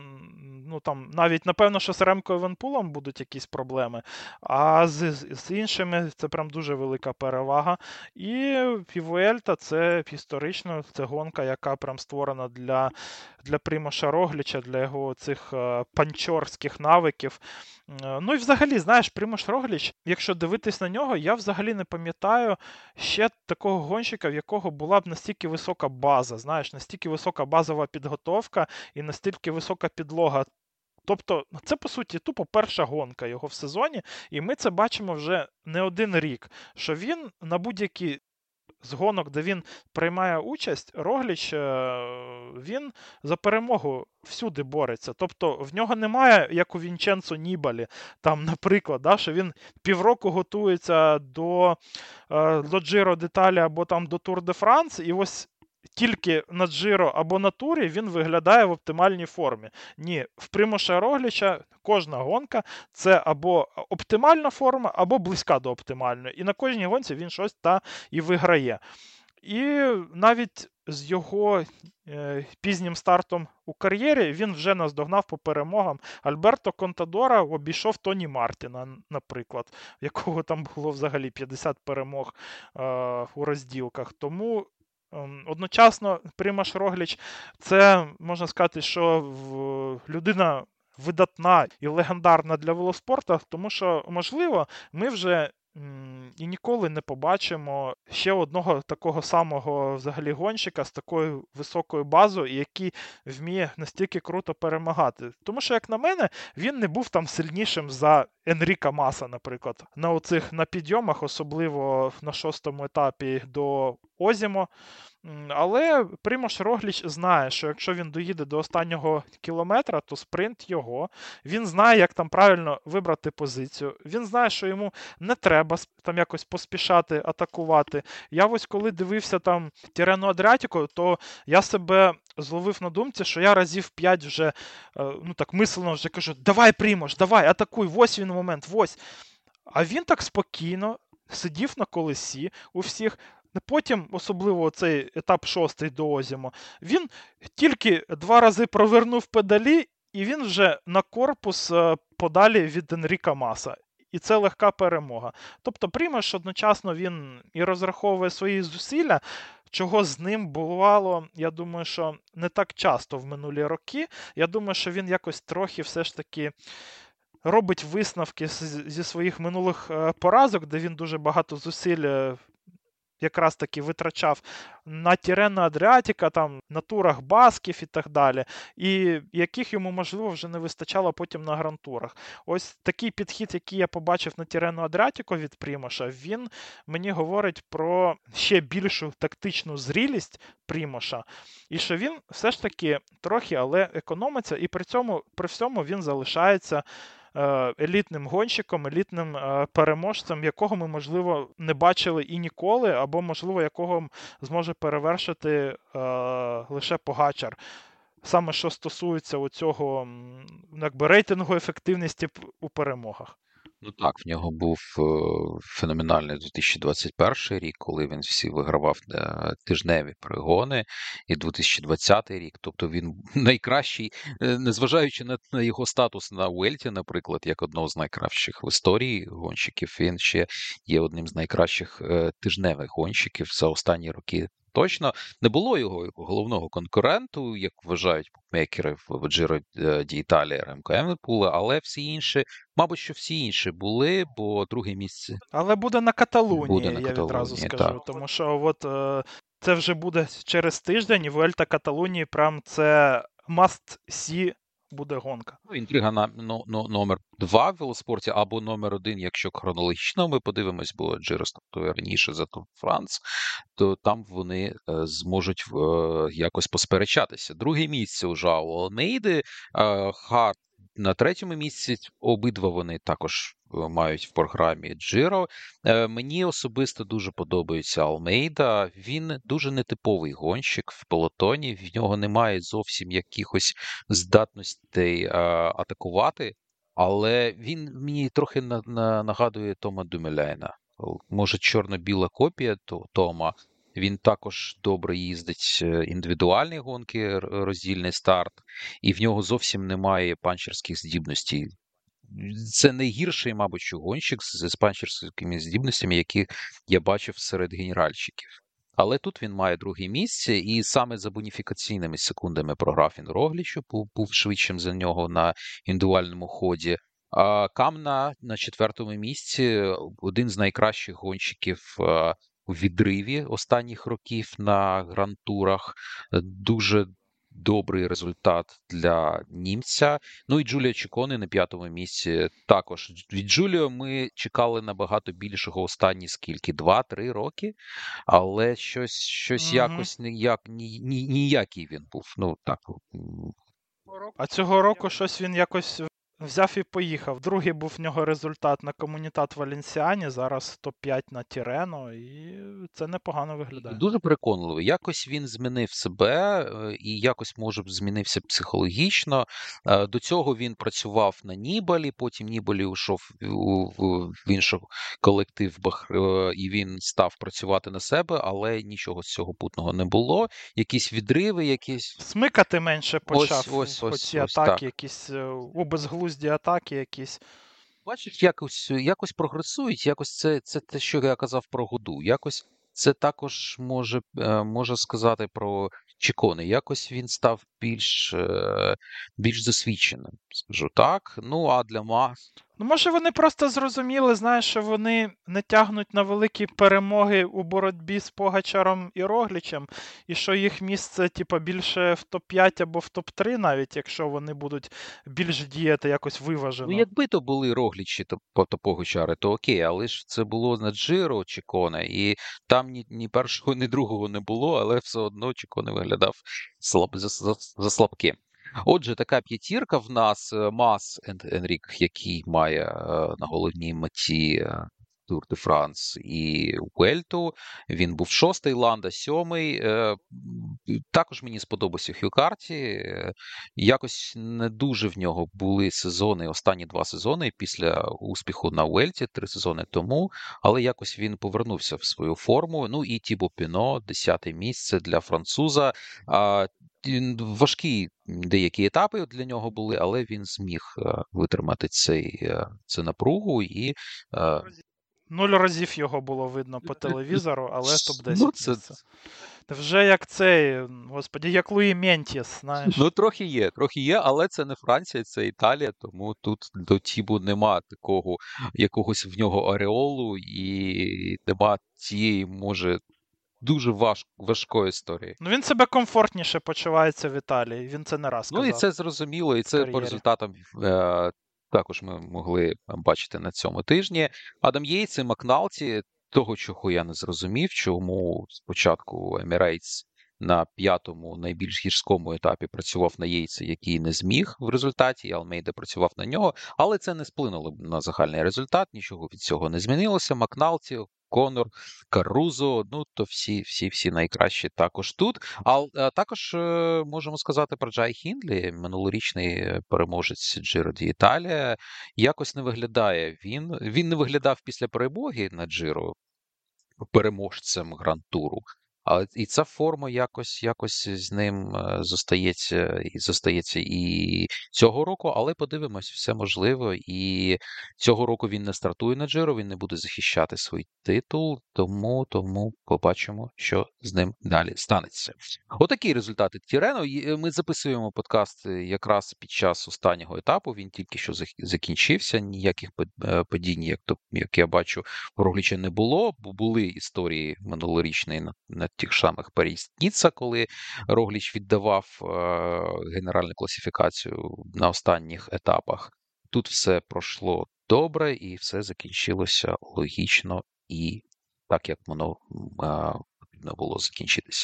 ну там навіть напевно, що з Ремко Евенпулом будуть якісь проблеми, а з, з іншими це прям дуже велика перевага. І, і Vuelta це історично, це гонка, яка прям створена для, для Примоша Рогліча, для його цих е, панчорських навиків. Ну і взагалі, знаєш, Примош Рогліч, якщо дивитись на нього, я взагалі не пам'ятаю ще такого гонщика, в якого була б настільки висока база, знаєш, настільки висока базова підготовка і настільки висока підлога. Тобто, це, по суті, тупо перша гонка його в сезоні, і ми це бачимо вже не один рік, що він на будь-які з гонок, де він приймає участь, Рогліч, він за перемогу всюди бореться. Тобто в нього немає, як у Вінченцо Нібалі, там, наприклад, да, що він півроку готується до, до Джиро Деталі або там до Тур де Франс, і ось тільки на Джиро або на турі він виглядає в оптимальній формі. Ні, в Примоша Рогліча кожна гонка – це або оптимальна форма, або близька до оптимальної. І на кожній гонці він щось та і виграє. І навіть з його е, пізнім стартом у кар'єрі він вже наздогнав по перемогам. Альберто Контадора обійшов Тоні Мартіна, наприклад, в якого там було взагалі п'ятдесят перемог е, у розділках. Тому одночасно Примаш Рогліч – це, можна сказати, що людина видатна і легендарна для велоспорту, тому що, можливо, ми вже і ніколи не побачимо ще одного такого самого взагалі гонщика з такою високою базою, який вміє настільки круто перемагати. Тому що, як на мене, він не був там сильнішим за Енріка Маса, наприклад. На оцих на підйомах, особливо на шостому етапі до Озімо. Але Примош Рогліч знає, що якщо він доїде до останнього кілометра, то спринт його. Він знає, як там правильно вибрати позицію. Він знає, що йому не треба там якось поспішати, атакувати. Я ось коли дивився там Тірену Адріатіку, то я себе зловив на думці, що я разів п'ять вже, ну так мислено вже кажу, давай, Примош, давай, атакуй, ось він момент, ось. А він так спокійно сидів на колесі у всіх. Потім, особливо цей етап шостий до Озімо, він тільки два рази провернув педалі, і він вже на корпус подалі від Енріка Маса. І це легка перемога. Тобто Примош одночасно він і розраховує свої зусилля, чого з ним бувало, я думаю, що не так часто в минулі роки. Я думаю, що він якось трохи все ж таки робить висновки зі своїх минулих поразок, де він дуже багато зусиль якраз таки витрачав на Тірена Адріатіка, там, на турах Басків і так далі, і яких йому, можливо, вже не вистачало потім на гран-турах. Ось такий підхід, який я побачив на Тірену Адріатіку від Примоша, він мені говорить про ще більшу тактичну зрілість Примоша, і що він все ж таки трохи, але економиться, і при цьому, при всьому він залишається елітним гонщиком, елітним переможцем, якого ми, можливо, не бачили і ніколи, або, можливо, якого зможе перевершити е, лише Погачар. Саме що стосується оцього, якби, рейтингу ефективності у перемогах. Ну так, в нього був е, феноменальний дві тисячі двадцять перший рік, коли він всі вигравав е, тижневі перегони, і дві тисячі двадцятий рік, тобто він найкращий, е, незважаючи на, на його статус на Уельті, наприклад, як одного з найкращих в історії гонщиків, він ще є одним з найкращих е, тижневих гонщиків за останні роки. Точно не було його головного конкуренту, як вважають букмекери в Джиро д'Італія Ремко Евенпула, але всі інші, мабуть, що всі інші були, бо друге місце. Але буде на Каталунії, буде на я Каталунії, відразу скажу, так. тому що от е, це вже буде через тиждень, і Vuelta Каталунії прям це must-see буде гонка. Ну, інтрига на но, но, номер два в велоспорті, або номер один, якщо хронологічно ми подивимось, бо Джиро стартує раніше за Тур де Франс, то там вони е, зможуть е, якось посперечатися. Друге місце у Жоао Алмейди, е, Харт на третьому місці, обидва вони також мають в програмі Джиро. Е, мені особисто дуже подобається Алмейда. Він дуже нетиповий гонщик в пелотоні. В нього немає зовсім якихось здатностей е, атакувати. але він мені трохи на, на, нагадує Тома Дюмелейна. Може, чорно-біла копія то, Тома. Він також добре їздить е, індивідуальні гонки, р- роздільний старт, і в нього зовсім немає панчерських здібностей. Це найгірший, мабуть, що гонщик з з панчерськими здібностями, які я бачив серед генеральщиків. Але тут він має друге місце, і саме за боніфікаційними секундами програв він Роглічу, був, був швидшим за нього на індивідуальному ході. А Камна на четвертому місці, один з найкращих гонщиків е, у відриві останніх років на гран-турах. Дуже добрий результат для німця. Ну і Джуліо Чіконе на п'ятому місці також. Від Джуліо ми чекали набагато більшого останні скільки? Два-три роки, але щось, щось Угу. якось ніяк, ні, ні, ніякий він був. Ну так. м, А цього року щось він якось взяв і поїхав. Другий був в нього результат на Комунітат Валенсіані, зараз топ п'ять на Тірено, і це непогано виглядає. Дуже переконливо. Якось він змінив себе е, і якось, може, змінився психологічно. Е, До цього він працював на Нібалі, потім Нібалі ушов у, в, в інший колектив Бах, е, і він став працювати на себе, але нічого з цього путного не було. Якісь відриви, якісь. Смикати менше почав, Ось, ось, хоч ось, ці ось так. атаки, якісь е, у безглузді атаки якісь. Бачиш, якось, якось прогресують, якось це, це те, що я казав про Году. Якось це також може, е, може сказати про Чіконе. Якось він став більш, е, більш засвідченим, скажу так. Ну, а для Мас, Ну, може, вони просто зрозуміли, знаєш, що вони не тягнуть на великі перемоги у боротьбі з Погачаром і Роглічем, і що їх місце, типу, більше в топ п'ять або в топ три, навіть якщо вони будуть більш діяти якось ну, виважено. якби то були Роглічі то, по- то Погачари, то окей, але ж це було на Джиро Чіконе, і там ні, ні першого, ні другого не було, але все одно Чіконе виглядав слаб, за, за, за слабким. Отже, така п'ятірка в нас е, Мас Ен- Енрік, який має е, на головній меті е, Тур де Франс і Vueltu. Він був шостий, Ланда сьомий. Е, м, Також мені сподобався Хью Карті. Е, Якось не дуже в нього були сезони, останні два сезони після успіху на Vuelті, три сезони тому, але якось він повернувся в свою форму. Ну і Тібо Піно, десяте місце для француза. А, він- Важкі деякі етапи для нього були, але він зміг е, витримати цей, е, цю напругу і е, Нуль разів його було видно по телевізору, але топ ну, десять це місце. Вже як цей, господі, як Луї Ментіс, знаєш. ну трохи є, трохи є, але це не Франція, це Італія, тому тут до Тібу нема такого якогось в нього ореолу і нема цієї, може, дуже важ, важкої історії. Ну він себе комфортніше почувається в Італії, він це не раз Ну і казав це зрозуміло, і в це по кар'єрі. результатам е, також ми могли бачити на цьому тижні. Адам Єйц і Макналті, того, чого я не зрозумів, чому спочатку Emirates на п'ятому найбільш гірському етапі працював на Єйці, який не зміг в результаті, і Алмейда працював на нього, але це не вплинуло на загальний результат, нічого від цього не змінилося. Макналті, Конор, Карузо, ну то всі, всі, всі найкращі також тут. А, а також е, можемо сказати про Джай Хіндлі, минулорічний е, переможець Джиро ді Італія. Якось не виглядає він. Він не виглядав після перемоги на Джиро переможцем гран-туру. А і ця форма якось якось з ним е, зостається і зостається і цього року, але подивимось, все можливо. І цього року він не стартує на Джиро, він не буде захищати свій титул, тому тому побачимо, що з ним далі станеться. Отакі результати Тірено. І, е, Ми записуємо подкаст е, якраз під час останнього етапу. Він тільки що зах- закінчився. Ніяких пад- е, падінь, як то як я бачу, в Рогліча не було, бо були історії минулорічні на, на тих самих Парі-Ніцца, коли Рогліч віддавав е, генеральну класифікацію на останніх етапах. Тут все пройшло добре і все закінчилося логічно і так, як воно е, потрібно було закінчитися.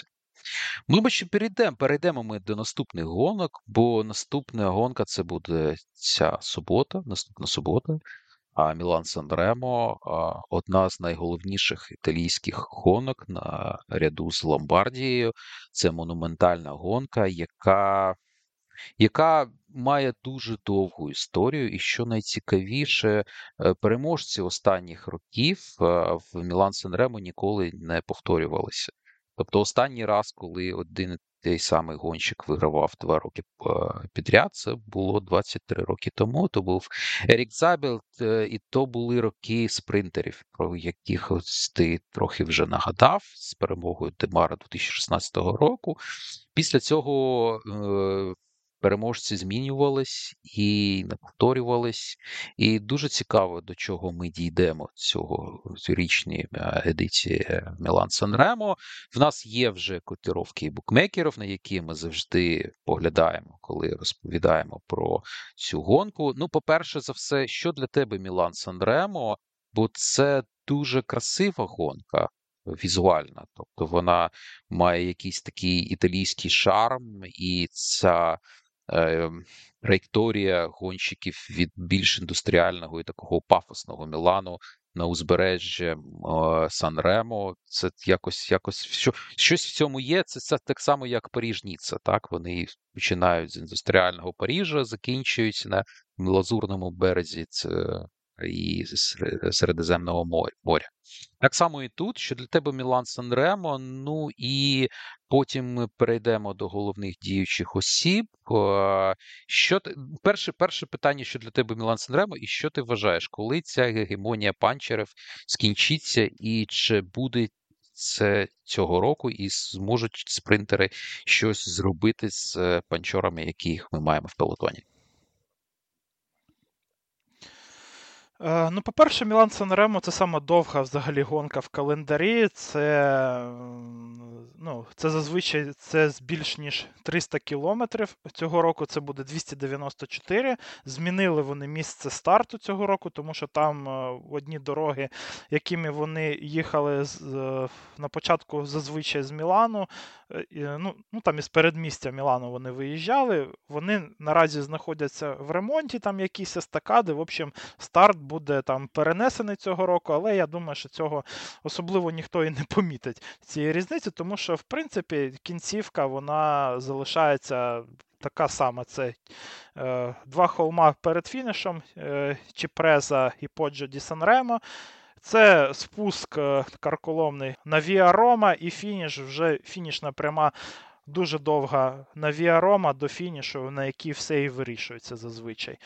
Ми бачимо, перейдемо, перейдемо ми до наступних гонок, бо наступна гонка це буде ця субота, наступна субота. А Мілан Сан-Ремо – одна з найголовніших італійських гонок на ряду з Ломбардією. Це монументальна гонка, яка, яка має дуже довгу історію, і що найцікавіше, е, переможці останніх років е, в Мілан-Сан Ремо ніколи не повторювалися. Тобто останній раз, коли один і той самий гонщик вигравав два роки е, підряд, це було двадцять три роки тому. То був Ерік Забелт, е, і то були роки спринтерів, про яких ось ти трохи вже нагадав, з перемогою Демара дві тисячі шістнадцятого року. Після цього е, переможці змінювались і не повторювались. І дуже цікаво, до чого ми дійдемо цього цьогорічній е, едиції Мілан-Сан Ремо. В нас є вже котировки букмекерів, на які ми завжди поглядаємо, коли розповідаємо про цю гонку. Ну, по-перше за все, що для тебе Мілан-Сан Ремо? Бо це дуже красива гонка візуальна. Тобто вона має якийсь такий італійський шарм, і ця е, траєкторія гонщиків від більш індустріального і такого пафосного Мілану на узбережжя е, Сан-Ремо. Це якось, якось що, щось в цьому є. Це, це так само, як Паріж-Ніцца. Так? Вони починають з індустріального Парижа, закінчують на Лазурному березі це, і Середземного моря. Так само і тут, що для тебе Мілан-Сан Ремо, ну і потім ми перейдемо до головних діючих осіб. Що ти, перше, перше питання, що для тебе Мілан-Сан Ремо, і що ти вважаєш, коли ця гегемонія панчерів скінчиться, і чи буде це цього року, і зможуть спринтери щось зробити з панчорами, яких ми маємо в пелотоні? Е, Ну, по-перше, Мілан-Сан Ремо це сама довга взагалі гонка в календарі. Це, м, ну, це зазвичай це з більш ніж триста кілометрів. Цього року це буде двісті дев'яносто чотири. Змінили вони місце старту цього року, тому що там е, одні дороги, якими вони їхали з, е, на початку зазвичай з Мілану, е, і, ну, ну там із передмістя Мілану вони виїжджали. Вони наразі знаходяться в ремонті, там якісь естакади. В общем, старт буде там перенесений цього року, але я думаю, що цього особливо ніхто і не помітить цієї різниці, тому що, в принципі, кінцівка, вона залишається така сама. Це е, два холма перед фінішем, е, Чіпреза і Поджо ді Сан-Ремо. Це спуск е, карколомний на Віа Рома, і фініш, вже фінішна пряма дуже довга на Віа Рома до фінішу, на якій все і вирішується зазвичай.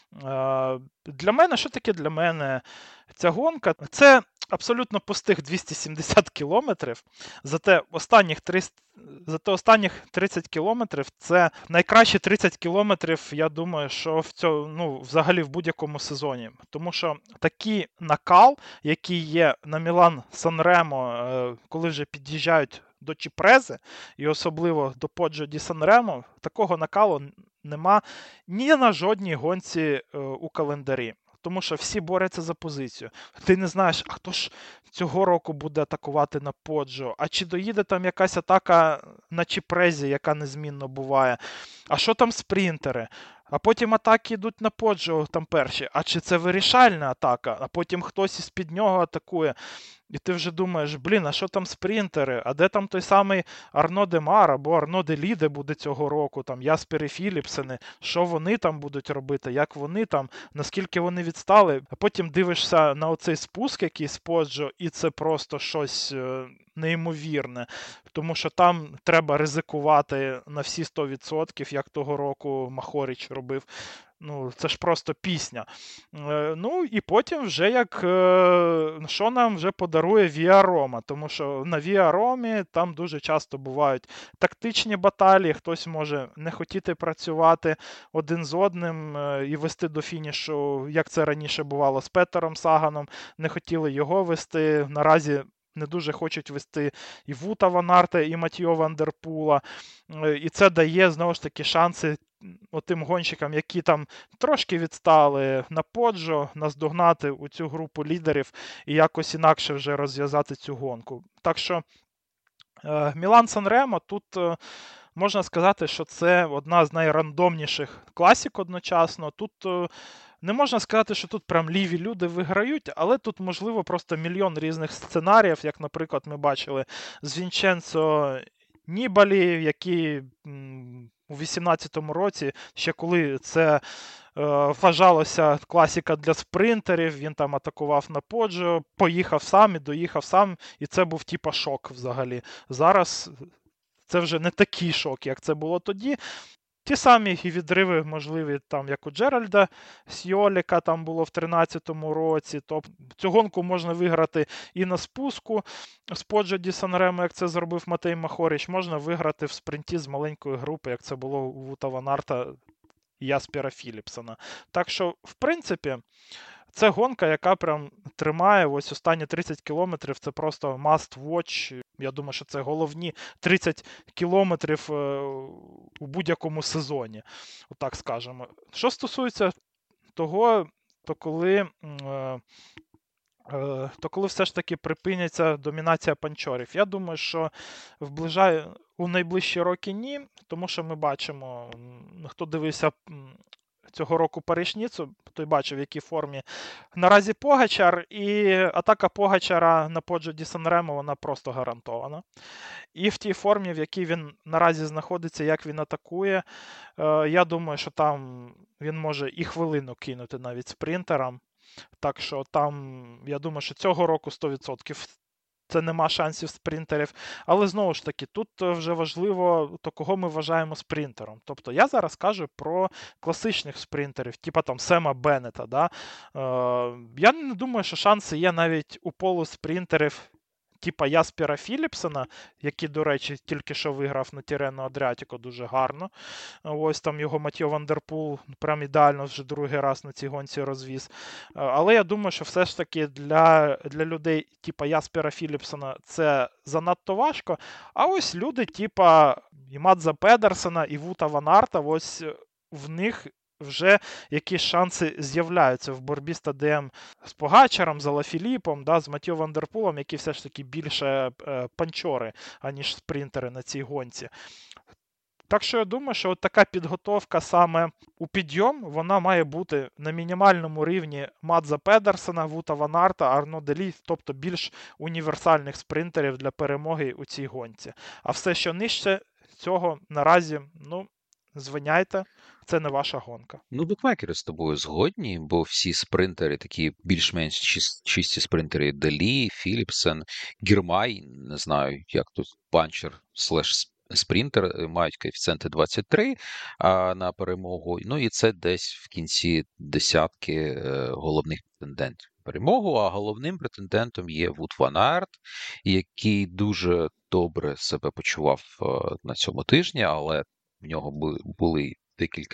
Для мене, що таке для мене ця гонка? Це абсолютно пустих двісті сімдесят кілометрів, зате останніх триста, зате останніх тридцять кілометрів це найкращі тридцять кілометрів, я думаю, що в цьому, ну, взагалі в будь-якому сезоні. Тому що такий накал, який є на Мілан-Сан Ремо, коли вже під'їжджають до Чіпрези, і особливо до Поджо ді Сан-Ремо, такого накалу нема ні на жодній гонці е, у календарі. Тому що всі борються за позицію. Ти не знаєш, а хто ж цього року буде атакувати на Поджо, а чи доїде там якась атака на Чіпрезі, яка незмінно буває, а що там спринтери? А потім атаки йдуть на Поджо, там перші, а чи це вирішальна атака, а потім хтось із-під нього атакує. І ти вже думаєш, блін, а що там спринтери? А де там той самий Арно Демар або Арно Деліде буде цього року, там Яспери Філіпсени, що вони там будуть робити, як вони там, наскільки вони відстали. А потім дивишся на оцей спуск, який з Поджо, і це просто щось неймовірне. Тому що там треба ризикувати на всі сто відсотків, як того року Махоріч робив. Ну, це ж просто пісня. Е, ну, і потім вже як, е, що нам вже подарує Віа Рома, тому що на Віа Ромі там дуже часто бувають тактичні баталії, хтось може не хотіти працювати один з одним е, і вести до фінішу, як це раніше бувало з Петером Саганом, не хотіли його вести, наразі не дуже хочуть вести і Вута Ван Арта, і Матьйо Ван дер Пула, е, і це дає, знову ж таки, шанси отим гонщикам, які там трошки відстали на Поджо, наздогнати у цю групу лідерів і якось інакше вже розв'язати цю гонку. Так що Мілан-Сан Ремо тут можна сказати, що це одна з найрандомніших класік одночасно. Тут не можна сказати, що тут прям ліві люди виграють, але тут, можливо, просто мільйон різних сценаріїв, як, наприклад, ми бачили з Вінченцо Нібалі, який у вісімнадцятому році, ще коли це е, вважалося класика для спринтерів, він там атакував на Поджо, поїхав сам і доїхав сам, і це був типа шок взагалі. Зараз це вже не такий шок, як це було тоді. Ті самі і відриви можливі, там, як у Джеральда Сьоліка там було в тринадцятому році. Тобто цю гонку можна виграти і на спуску з Поджо ді Санремо, як це зробив Матей Махоріч, можна виграти в спринті з маленької групи, як це було у Вута Ван Арта і Яспера Філіпсона. Так що, в принципі, це гонка, яка прям тримає ось останні тридцять кілометрів, це просто must watch. Я думаю, що це головні тридцять кілометрів у будь-якому сезоні, отак скажемо. Що стосується того, то коли, то коли все ж таки припиняться домінація панчорів, я думаю, що вближає у найближчі роки ні, тому що ми бачимо, хто дивився цього року Париж-Ніццу, той бачив, в якій формі наразі Погачар, і атака Погачара на Поджо ді Санремо, вона просто гарантована. І в тій формі, в якій він наразі знаходиться, як він атакує, я думаю, що там він може і хвилину кинути навіть спринтерам. Так що там, я думаю, що цього року сто відсотків це нема шансів спринтерів. Але, знову ж таки, тут вже важливо, то кого ми вважаємо спринтером. Тобто, я зараз кажу про класичних спринтерів, типа там Сема Беннета. Да? Е, я не думаю, що шанси є навіть у полуспринтерів, типа Яспера Філіпсона, який, до речі, тільки що виграв на Тірено Адріатіко дуже гарно. Ось там його Матьо Ван дер Пул прям ідеально вже другий раз на цій гонці розвіз. Але я думаю, що все ж таки для, для людей типа Яспера Філіпсона це занадто важко. А ось люди типа і Мадза Педерсена, і Вута Ван Арта, ось в них вже якісь шанси з'являються в боротьбі з ТДМ з Погачаром, з Алафіліпом, да, з Матьо Ван дер Пулом, які все ж таки більше е, панчори, аніж спринтери на цій гонці. Так що я думаю, що от така підготовка саме у підйом, вона має бути на мінімальному рівні Мадза Педерсена, Вута Ван Арта, Арно Делі, тобто більш універсальних спринтерів для перемоги у цій гонці. А все, що нижче цього наразі, ну, звиняйте, це не ваша гонка. Ну, букмекери з тобою згодні, бо всі спринтери, такі більш-менш чис- чисті спринтери, Делі, Філіпсен, Гірмай, не знаю, як тут, панчер слеш спринтер, мають коефіцієнти двадцять три а, на перемогу. Ну і це десь в кінці десятки е, головних претендентів на перемогу, а головним претендентом є Вут Ван Арт, який дуже добре себе почував е, на цьому тижні, але в нього були декілька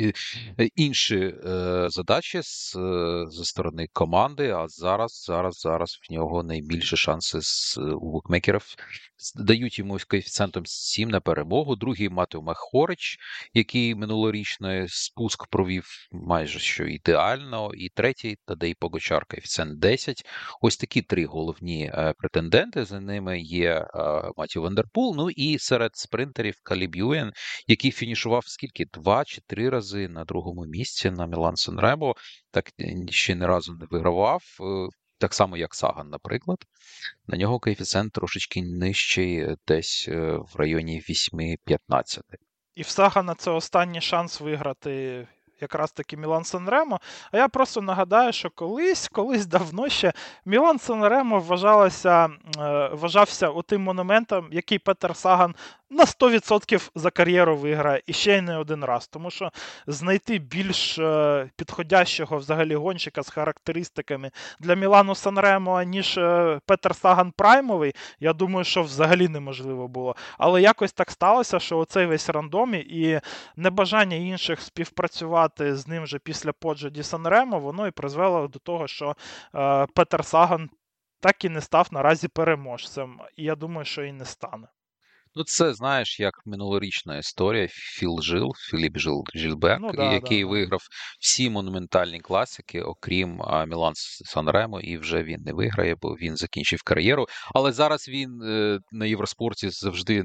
інші е, задачі з, зі сторони команди, а зараз, зараз, зараз в нього найбільші шанси з, у букмекерів. Дають йому коефіцієнтом сім на перемогу. Другий Матео Махорич, який минулорічний спуск провів майже що ідеально. І третій Тадей Погачар, коефіцієнт десять. Ось такі три головні е, претенденти. За ними є е, Матео Ван дер Пул. Ну і серед спринтерів Каліб Юен, який фінішував скільки? Два чи три рази на другому місці на Мілан-Сан Ремо. Так ще ні разу не вигравав. Так само, як Саган, наприклад. На нього коефіцієнт трошечки нижчий, десь в районі вісім п'ятнадцять. І в Сагана це останній шанс виграти якраз таки Мілан-Сан Ремо. А я просто нагадаю, що колись, колись давно ще Мілан-Сан Ремо вважалося, вважався отим монументом, який Петер Саган на сто відсотків за кар'єру виграє, і ще й не один раз. Тому що знайти більш е, підходящого взагалі гонщика з характеристиками для Мілану Сан-Ремо, ніж е, Петер Саган праймовий, я думаю, що взагалі неможливо було. Але якось так сталося, що оцей весь рандом і небажання інших співпрацювати з ним вже після Поджо ді Сан-Ремо, воно і призвело до того, що е, Петер Саган так і не став наразі переможцем. І я думаю, що і не стане. Ну, це, знаєш, як минулорічна історія. Філ Жил, Філіп Жил Жильбек, Ну, да, який да, да. виграв всі монументальні класики, окрім Мілан Сан Ремо, і вже він не виграє, бо він закінчив кар'єру. Але зараз він е, на Євроспорті завжди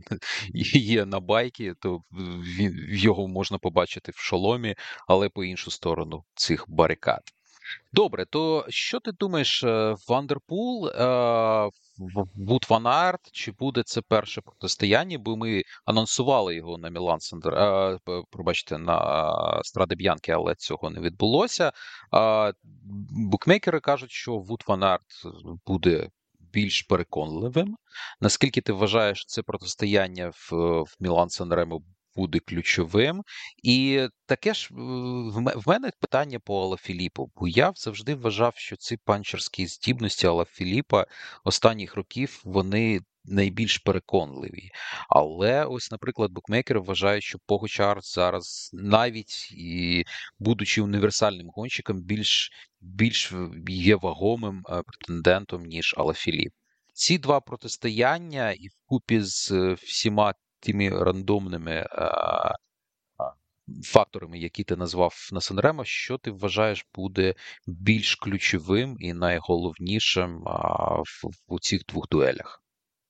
є на байки, то він, його можна побачити в шоломі, але по іншу сторону цих барикад. Добре, то що ти думаєш, е, Вандерпул, е, В- Вуд Ван Аерт, чи буде це перше протистояння? Бо ми анонсували його на Мілан Сандер, е, п- пробачте, на Страде Б'янки, але цього не відбулося. А, букмекери кажуть, що Вуд Ван Аерт буде більш переконливим. Наскільки ти вважаєш, це протистояння в, в Мілан Санремо буде ключовим? І таке ж е, в ме- в мене питання по Алафіліпу, бо я завжди вважав, що ці панчерські здібності Алафіліпа останніх років вони найбільш переконливі. Але ось, наприклад, букмекери вважають, що Погочар зараз, навіть і будучи універсальним гонщиком, більш, більш є вагомим е, претендентом, ніж Алафіліп. Ці два протистояння і вкупі з е, всіма тими рандомними е, факторами, які ти назвав на Санремо, що ти вважаєш буде більш ключовим і найголовнішим а, в, в цих двох дуелях?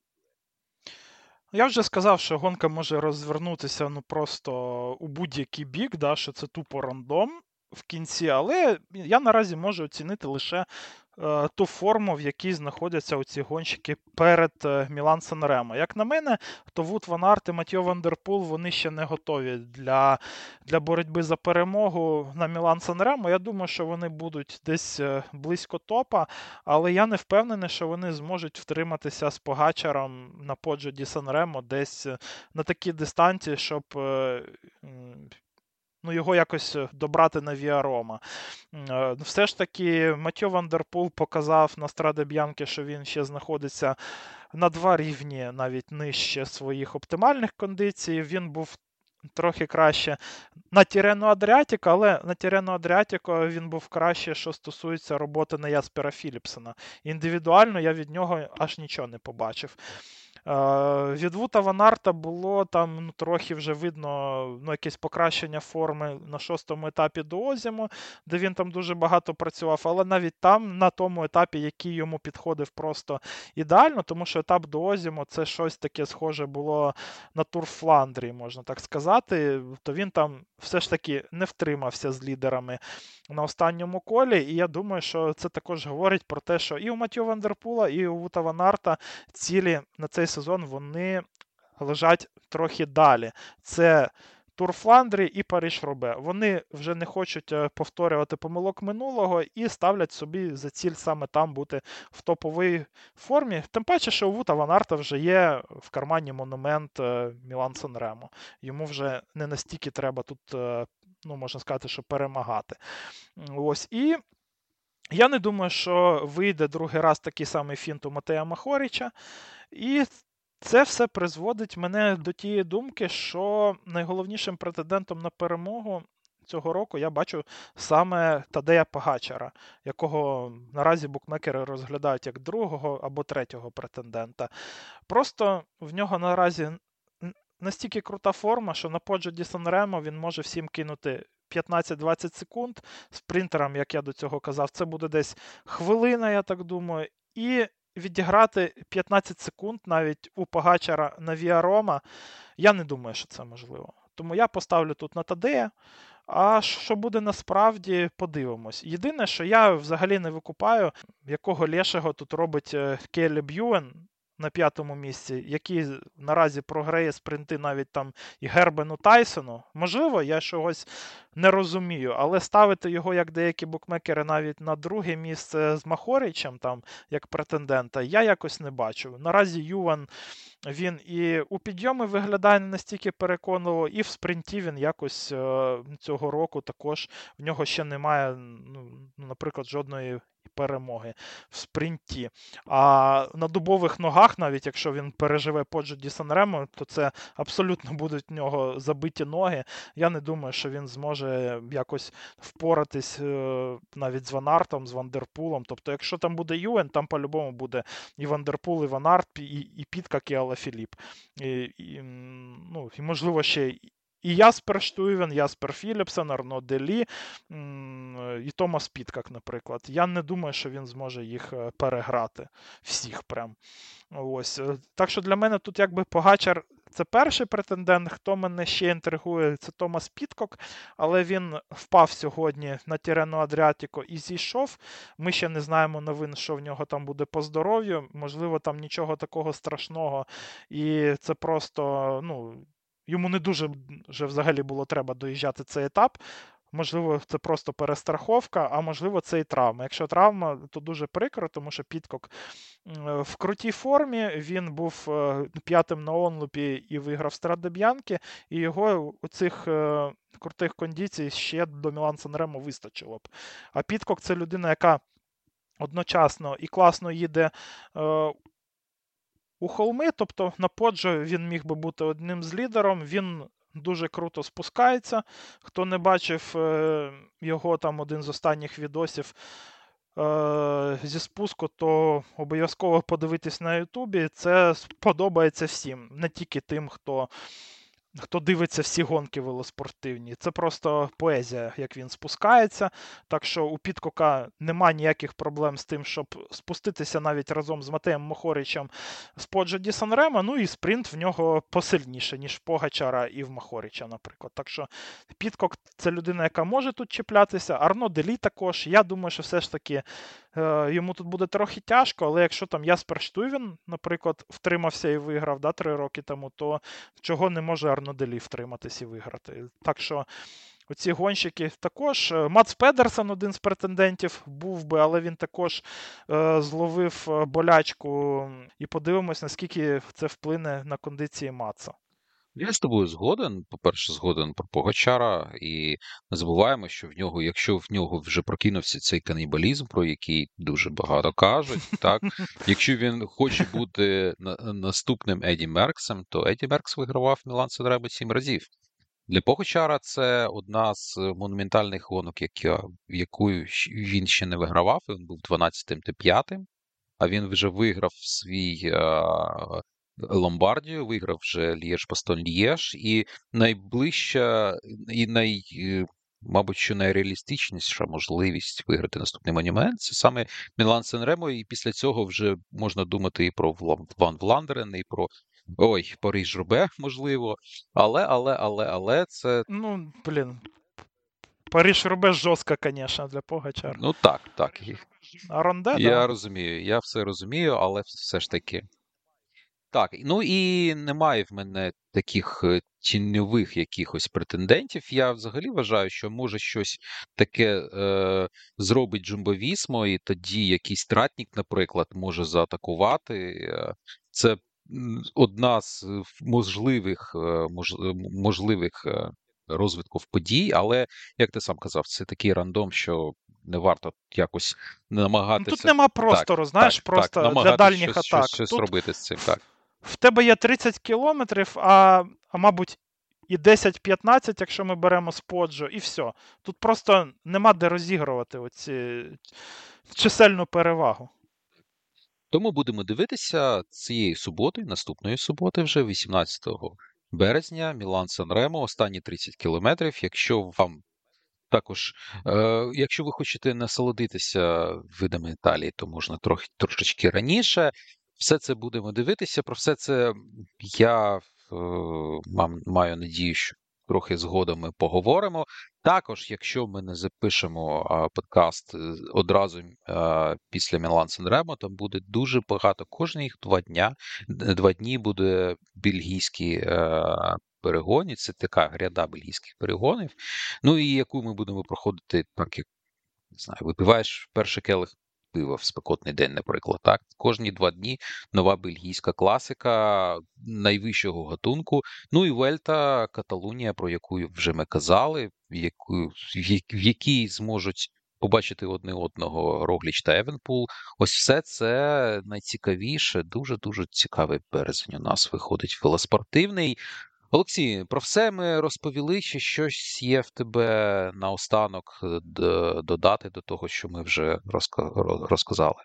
Я вже сказав, що гонка може розвернутися ну просто у будь-який бік, да, що це тупо рандом в кінці, але я наразі можу оцінити лише е, ту форму, в якій знаходяться оці гонщики перед е, Мілан Санремо. Як на мене, то Вуд Ван Аерт і Матьо Ван дер Пул, вони ще не готові для, для боротьби за перемогу на Мілан Санремо. Я думаю, що вони будуть десь е, близько топа, але я не впевнений, що вони зможуть втриматися з Погачаром на Поджо ді Санремо десь е, на такій дистанції, щоб е, м, ну, його якось е, добрати на Віа Рома. Е, Все ж таки, Матьо Ван дер Пул показав на Страде Б'янки, що він ще знаходиться на два рівні, навіть нижче своїх оптимальних кондицій. Він був трохи краще на Тірену Адріатіко, але на Тірену Адріатіко він був краще, що стосується роботи на Яспера Філіпсена. Індивідуально я від нього аж нічого не побачив. Е, Від Вута Ван Аерта було там ну, трохи вже видно ну, якесь покращення форми на шостому етапі до Озіму, де він там дуже багато працював, але навіть там, на тому етапі, який йому підходив просто ідеально, тому що етап до Озіму це щось таке схоже було на Тур Фландрії, можна так сказати, то він там все ж таки не втримався з лідерами на останньому колі, і я думаю, що це також говорить про те, що і у Матьо Ван дер Пула, і у Вута Ван Аерта цілі на цей сезон вони лежать трохи далі. Це Тур Фландрії і Париж-Робе. Вони вже не хочуть повторювати помилок минулого і ставлять собі за ціль саме там бути в топовій формі. Тим паче, що у Вута Ван Аерта вже є в кармані монумент Мілан Санремо. Йому вже не настільки треба тут, ну, можна сказати, що перемагати. Ось. І я не думаю, що вийде другий раз такий самий фінт у Матея Махоріча. І це все призводить мене до тієї думки, що найголовнішим претендентом на перемогу цього року я бачу саме Тадея Погачара, якого наразі букмекери розглядають як другого або третього претендента. Просто в нього наразі настільки крута форма, що на Поджо ді Санремо він може всім кинути п'ятнадцять-двадцять секунд. Спринтерам, як я до цього казав, це буде десь хвилина, я так думаю. І відіграти п'ятнадцять секунд навіть у Погачара на Віа Рома, я не думаю, що це можливо. Тому я поставлю тут на Тадея. А що буде насправді, подивимось. Єдине, що я взагалі не викупаю, якого лешого тут робить Келлі Б'юен на п'ятому місці, який наразі програє спринти навіть там і Гербену Тайсону. Можливо, я чогось не розумію, але ставити його, як деякі букмекери, навіть на друге місце з Махоричем, там, як претендента, я якось не бачу. Наразі Юван, він і у підйомі виглядає не настільки переконливо, і в спринті він якось е, цього року також, в нього ще немає, ну, наприклад, жодної перемоги в спринті. А на дубових ногах, навіть якщо він переживе Поджо ді Санремо, то це абсолютно будуть в нього забиті ноги. Я не думаю, що він зможе якось впоратись е, навіть з Ван Аертом, з Ван дер Пулом. Тобто, якщо там буде Юен, там по-любому буде і Ван дер Пул, і Ван Аерт, і, і Підкак, і Алафіліп. І, і, ну, і, можливо, ще і Яспер Штуйвен, Яспер Філіпсен, Арно Делі, і Томас Підкак, наприклад. Я не думаю, що він зможе їх переграти. Всіх прям. Ось. Так що для мене тут якби Погачар Це перший претендент. Хто мене ще інтригує, це Томас Підкок, але він впав сьогодні на Тірену Адріатіко і зійшов. Ми ще не знаємо новин, що в нього там буде по здоров'ю. Можливо, там нічого такого страшного. І це просто, ну, йому не дуже вже взагалі було треба доїжджати цей етап. Можливо, це просто перестраховка, а можливо, це і травма. Якщо травма, то дуже прикро, тому що Підкок в крутій формі, він був п'ятим на онлупі і виграв Страде Б'янки, і його у цих крутих кондицій ще до Мілан-Сан Ремо вистачило б. А Підкок – це людина, яка одночасно і класно їде у холми, тобто на Поджо він міг би бути одним з лідером, він дуже круто спускається. Хто не бачив його там один з останніх відосів зі спуску, то обов'язково подивитись на Ютубі. Це сподобається всім, не тільки тим, хто хто дивиться всі гонки велоспортивні. Це просто поезія, як він спускається. Так що у Підкока нема ніяких проблем з тим, щоб спуститися навіть разом з Матеєм Мохоричем з Поджо ді Сан-Ремо. Ну і спринт в нього посильніше, ніж в Погачара і в Мохорича, наприклад. Так що Підкок – це людина, яка може тут чіплятися. Арно Делі також. Я думаю, що все ж таки е, йому тут буде трохи тяжко, але якщо там Яспер Штуйвен, наприклад, втримався і виграв да, три роки тому, то чого не може Арно Делі втриматись і виграти. Так що оці гонщики також. Мац Педерсен, один з претендентів, був би, але він також е, зловив болячку. І подивимось, наскільки це вплине на кондиції Маца. Я з тобою згоден. По-перше, згоден про Погачара, і не забуваємо, що в нього, якщо в нього вже прокинувся цей канібалізм, про який дуже багато кажуть, так, якщо він хоче бути на, наступним Еді Мерксом, то Еді Меркс вигравав Мілан-Сан Ремо сім разів. Для Погачара це одна з монументальних гонок, яка, яку він ще не вигравав, він був дванадцятим та п'ятим, а він вже виграв свій а, Ломбардію, виграв вже Лєж-Бастон-Лєж, і найближча, і най, мабуть, що найреалістичніша можливість виграти наступний монумент – це саме Мілан-Сан Ремо, і після цього вже можна думати і про Ван Вландерен, і про ой, Париж-Roubaix, можливо, але, але, але, але це... Ну, блін, Париж-Roubaix жорстко, звісно, для Погачара. Ну так, так. А Ронде, я да. розумію, я все розумію, але все ж таки. Так, ну і немає в мене таких тіньових якихось претендентів. Я взагалі вважаю, що може щось таке е, зробить Джумбо Вісмо, і тоді якийсь Тратнік, наприклад, може заатакувати. Це одна з можливих, мож, можливих розвитків подій, але, як ти сам казав, це такий рандом, що не варто якось намагатися... Ну, тут нема простору, так, знаєш, так, просто так, для дальніх щось, атак. Щось, щось тут робити з цим, так. В тебе є тридцять кілометрів, а, а мабуть, і десять-п'ятнадцять, якщо ми беремо з Поджо, і все. Тут просто нема де розігрувати оці чисельну перевагу. Тому будемо дивитися цієї суботи, наступної суботи вже, вісімнадцятого березня, Мілан-Сан Ремо, останні тридцять кілометрів. Якщо вам також, е, якщо ви хочете насолодитися видами Італії, то можна трохи, трошечки раніше. Все це будемо дивитися. Про все це я е, маю надію, що трохи згодом ми поговоримо. Також, якщо ми не запишемо а, подкаст одразу а, після Мілан-Сан Ремо, там буде дуже багато. Кожні два дня, два дні буде бельгійські а, перегони. Це така гряда бельгійських перегонів. Ну і яку ми будемо проходити, так як, не знаю, випиваєш перший келих пива в спекотний день, наприклад. Так? Кожні два дні нова бельгійська класика найвищого гатунку. Ну і Вельта, Каталунія, про яку вже ми казали, в, яку, в якій зможуть побачити одне одного Рогліч та Евенпул. Ось все це найцікавіше, дуже-дуже цікавий березень у нас виходить велоспортивний. Олексій, про все ми розповіли, чи щось є в тебе наостанок додати до того, що ми вже розказали?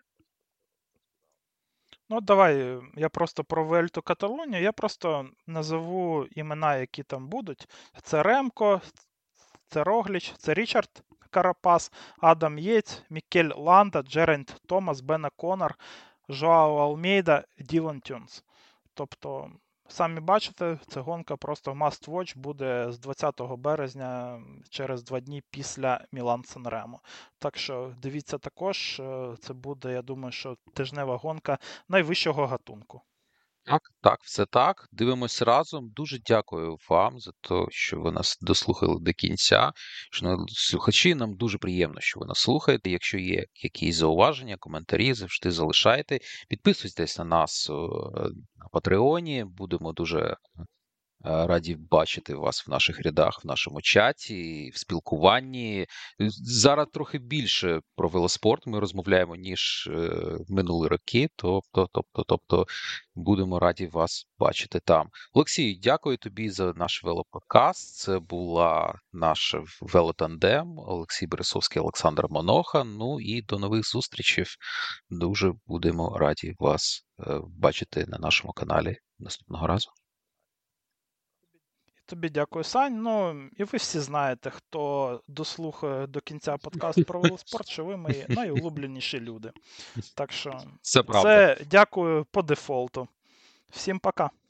Ну, давай, я просто про Вельту Каталунію, я просто назову імена, які там будуть. Це Ремко, це Рогліч, це Річард Карапас, Адам Єць, Мікель Ланда, Джерент Томас, Бена Конор, Жоао Алмейда, Ділан Тюнс. Тобто Самі бачите, ця гонка просто must watch буде з двадцятого березня, через два дні після Мілан-Сан Ремо. Так що дивіться також, е, це буде, я думаю, що тижнева гонка найвищого гатунку. Так, так, все так. Дивимось разом. Дуже дякую вам за те, що ви нас дослухали до кінця. Шановні слухачі, нам дуже приємно, що ви нас слухаєте. Якщо є якісь зауваження, коментарі, завжди залишайте. Підписуйтесь на нас е, на Патреоні. Будемо дуже Е, раді бачити вас в наших рядах, в нашому чаті, в спілкуванні. Зараз трохи більше про велоспорт ми розмовляємо, ніж е, минулі роки, тобто, тобто, тобто будемо раді вас бачити там. Олексій, дякую тобі за наш велоподкаст. Це була наш велотандем. Олексій Бересовський, Олександр Моноха. Ну і до нових зустрічей. Дуже будемо раді вас е, бачити на нашому каналі наступного разу. Тобі дякую, Сань. Ну, і ви всі знаєте, хто дослухає до кінця подкаст про велоспорт, що ви мої найулюбленіші люди. Так що Це правда. це дякую по дефолту. Всім пока.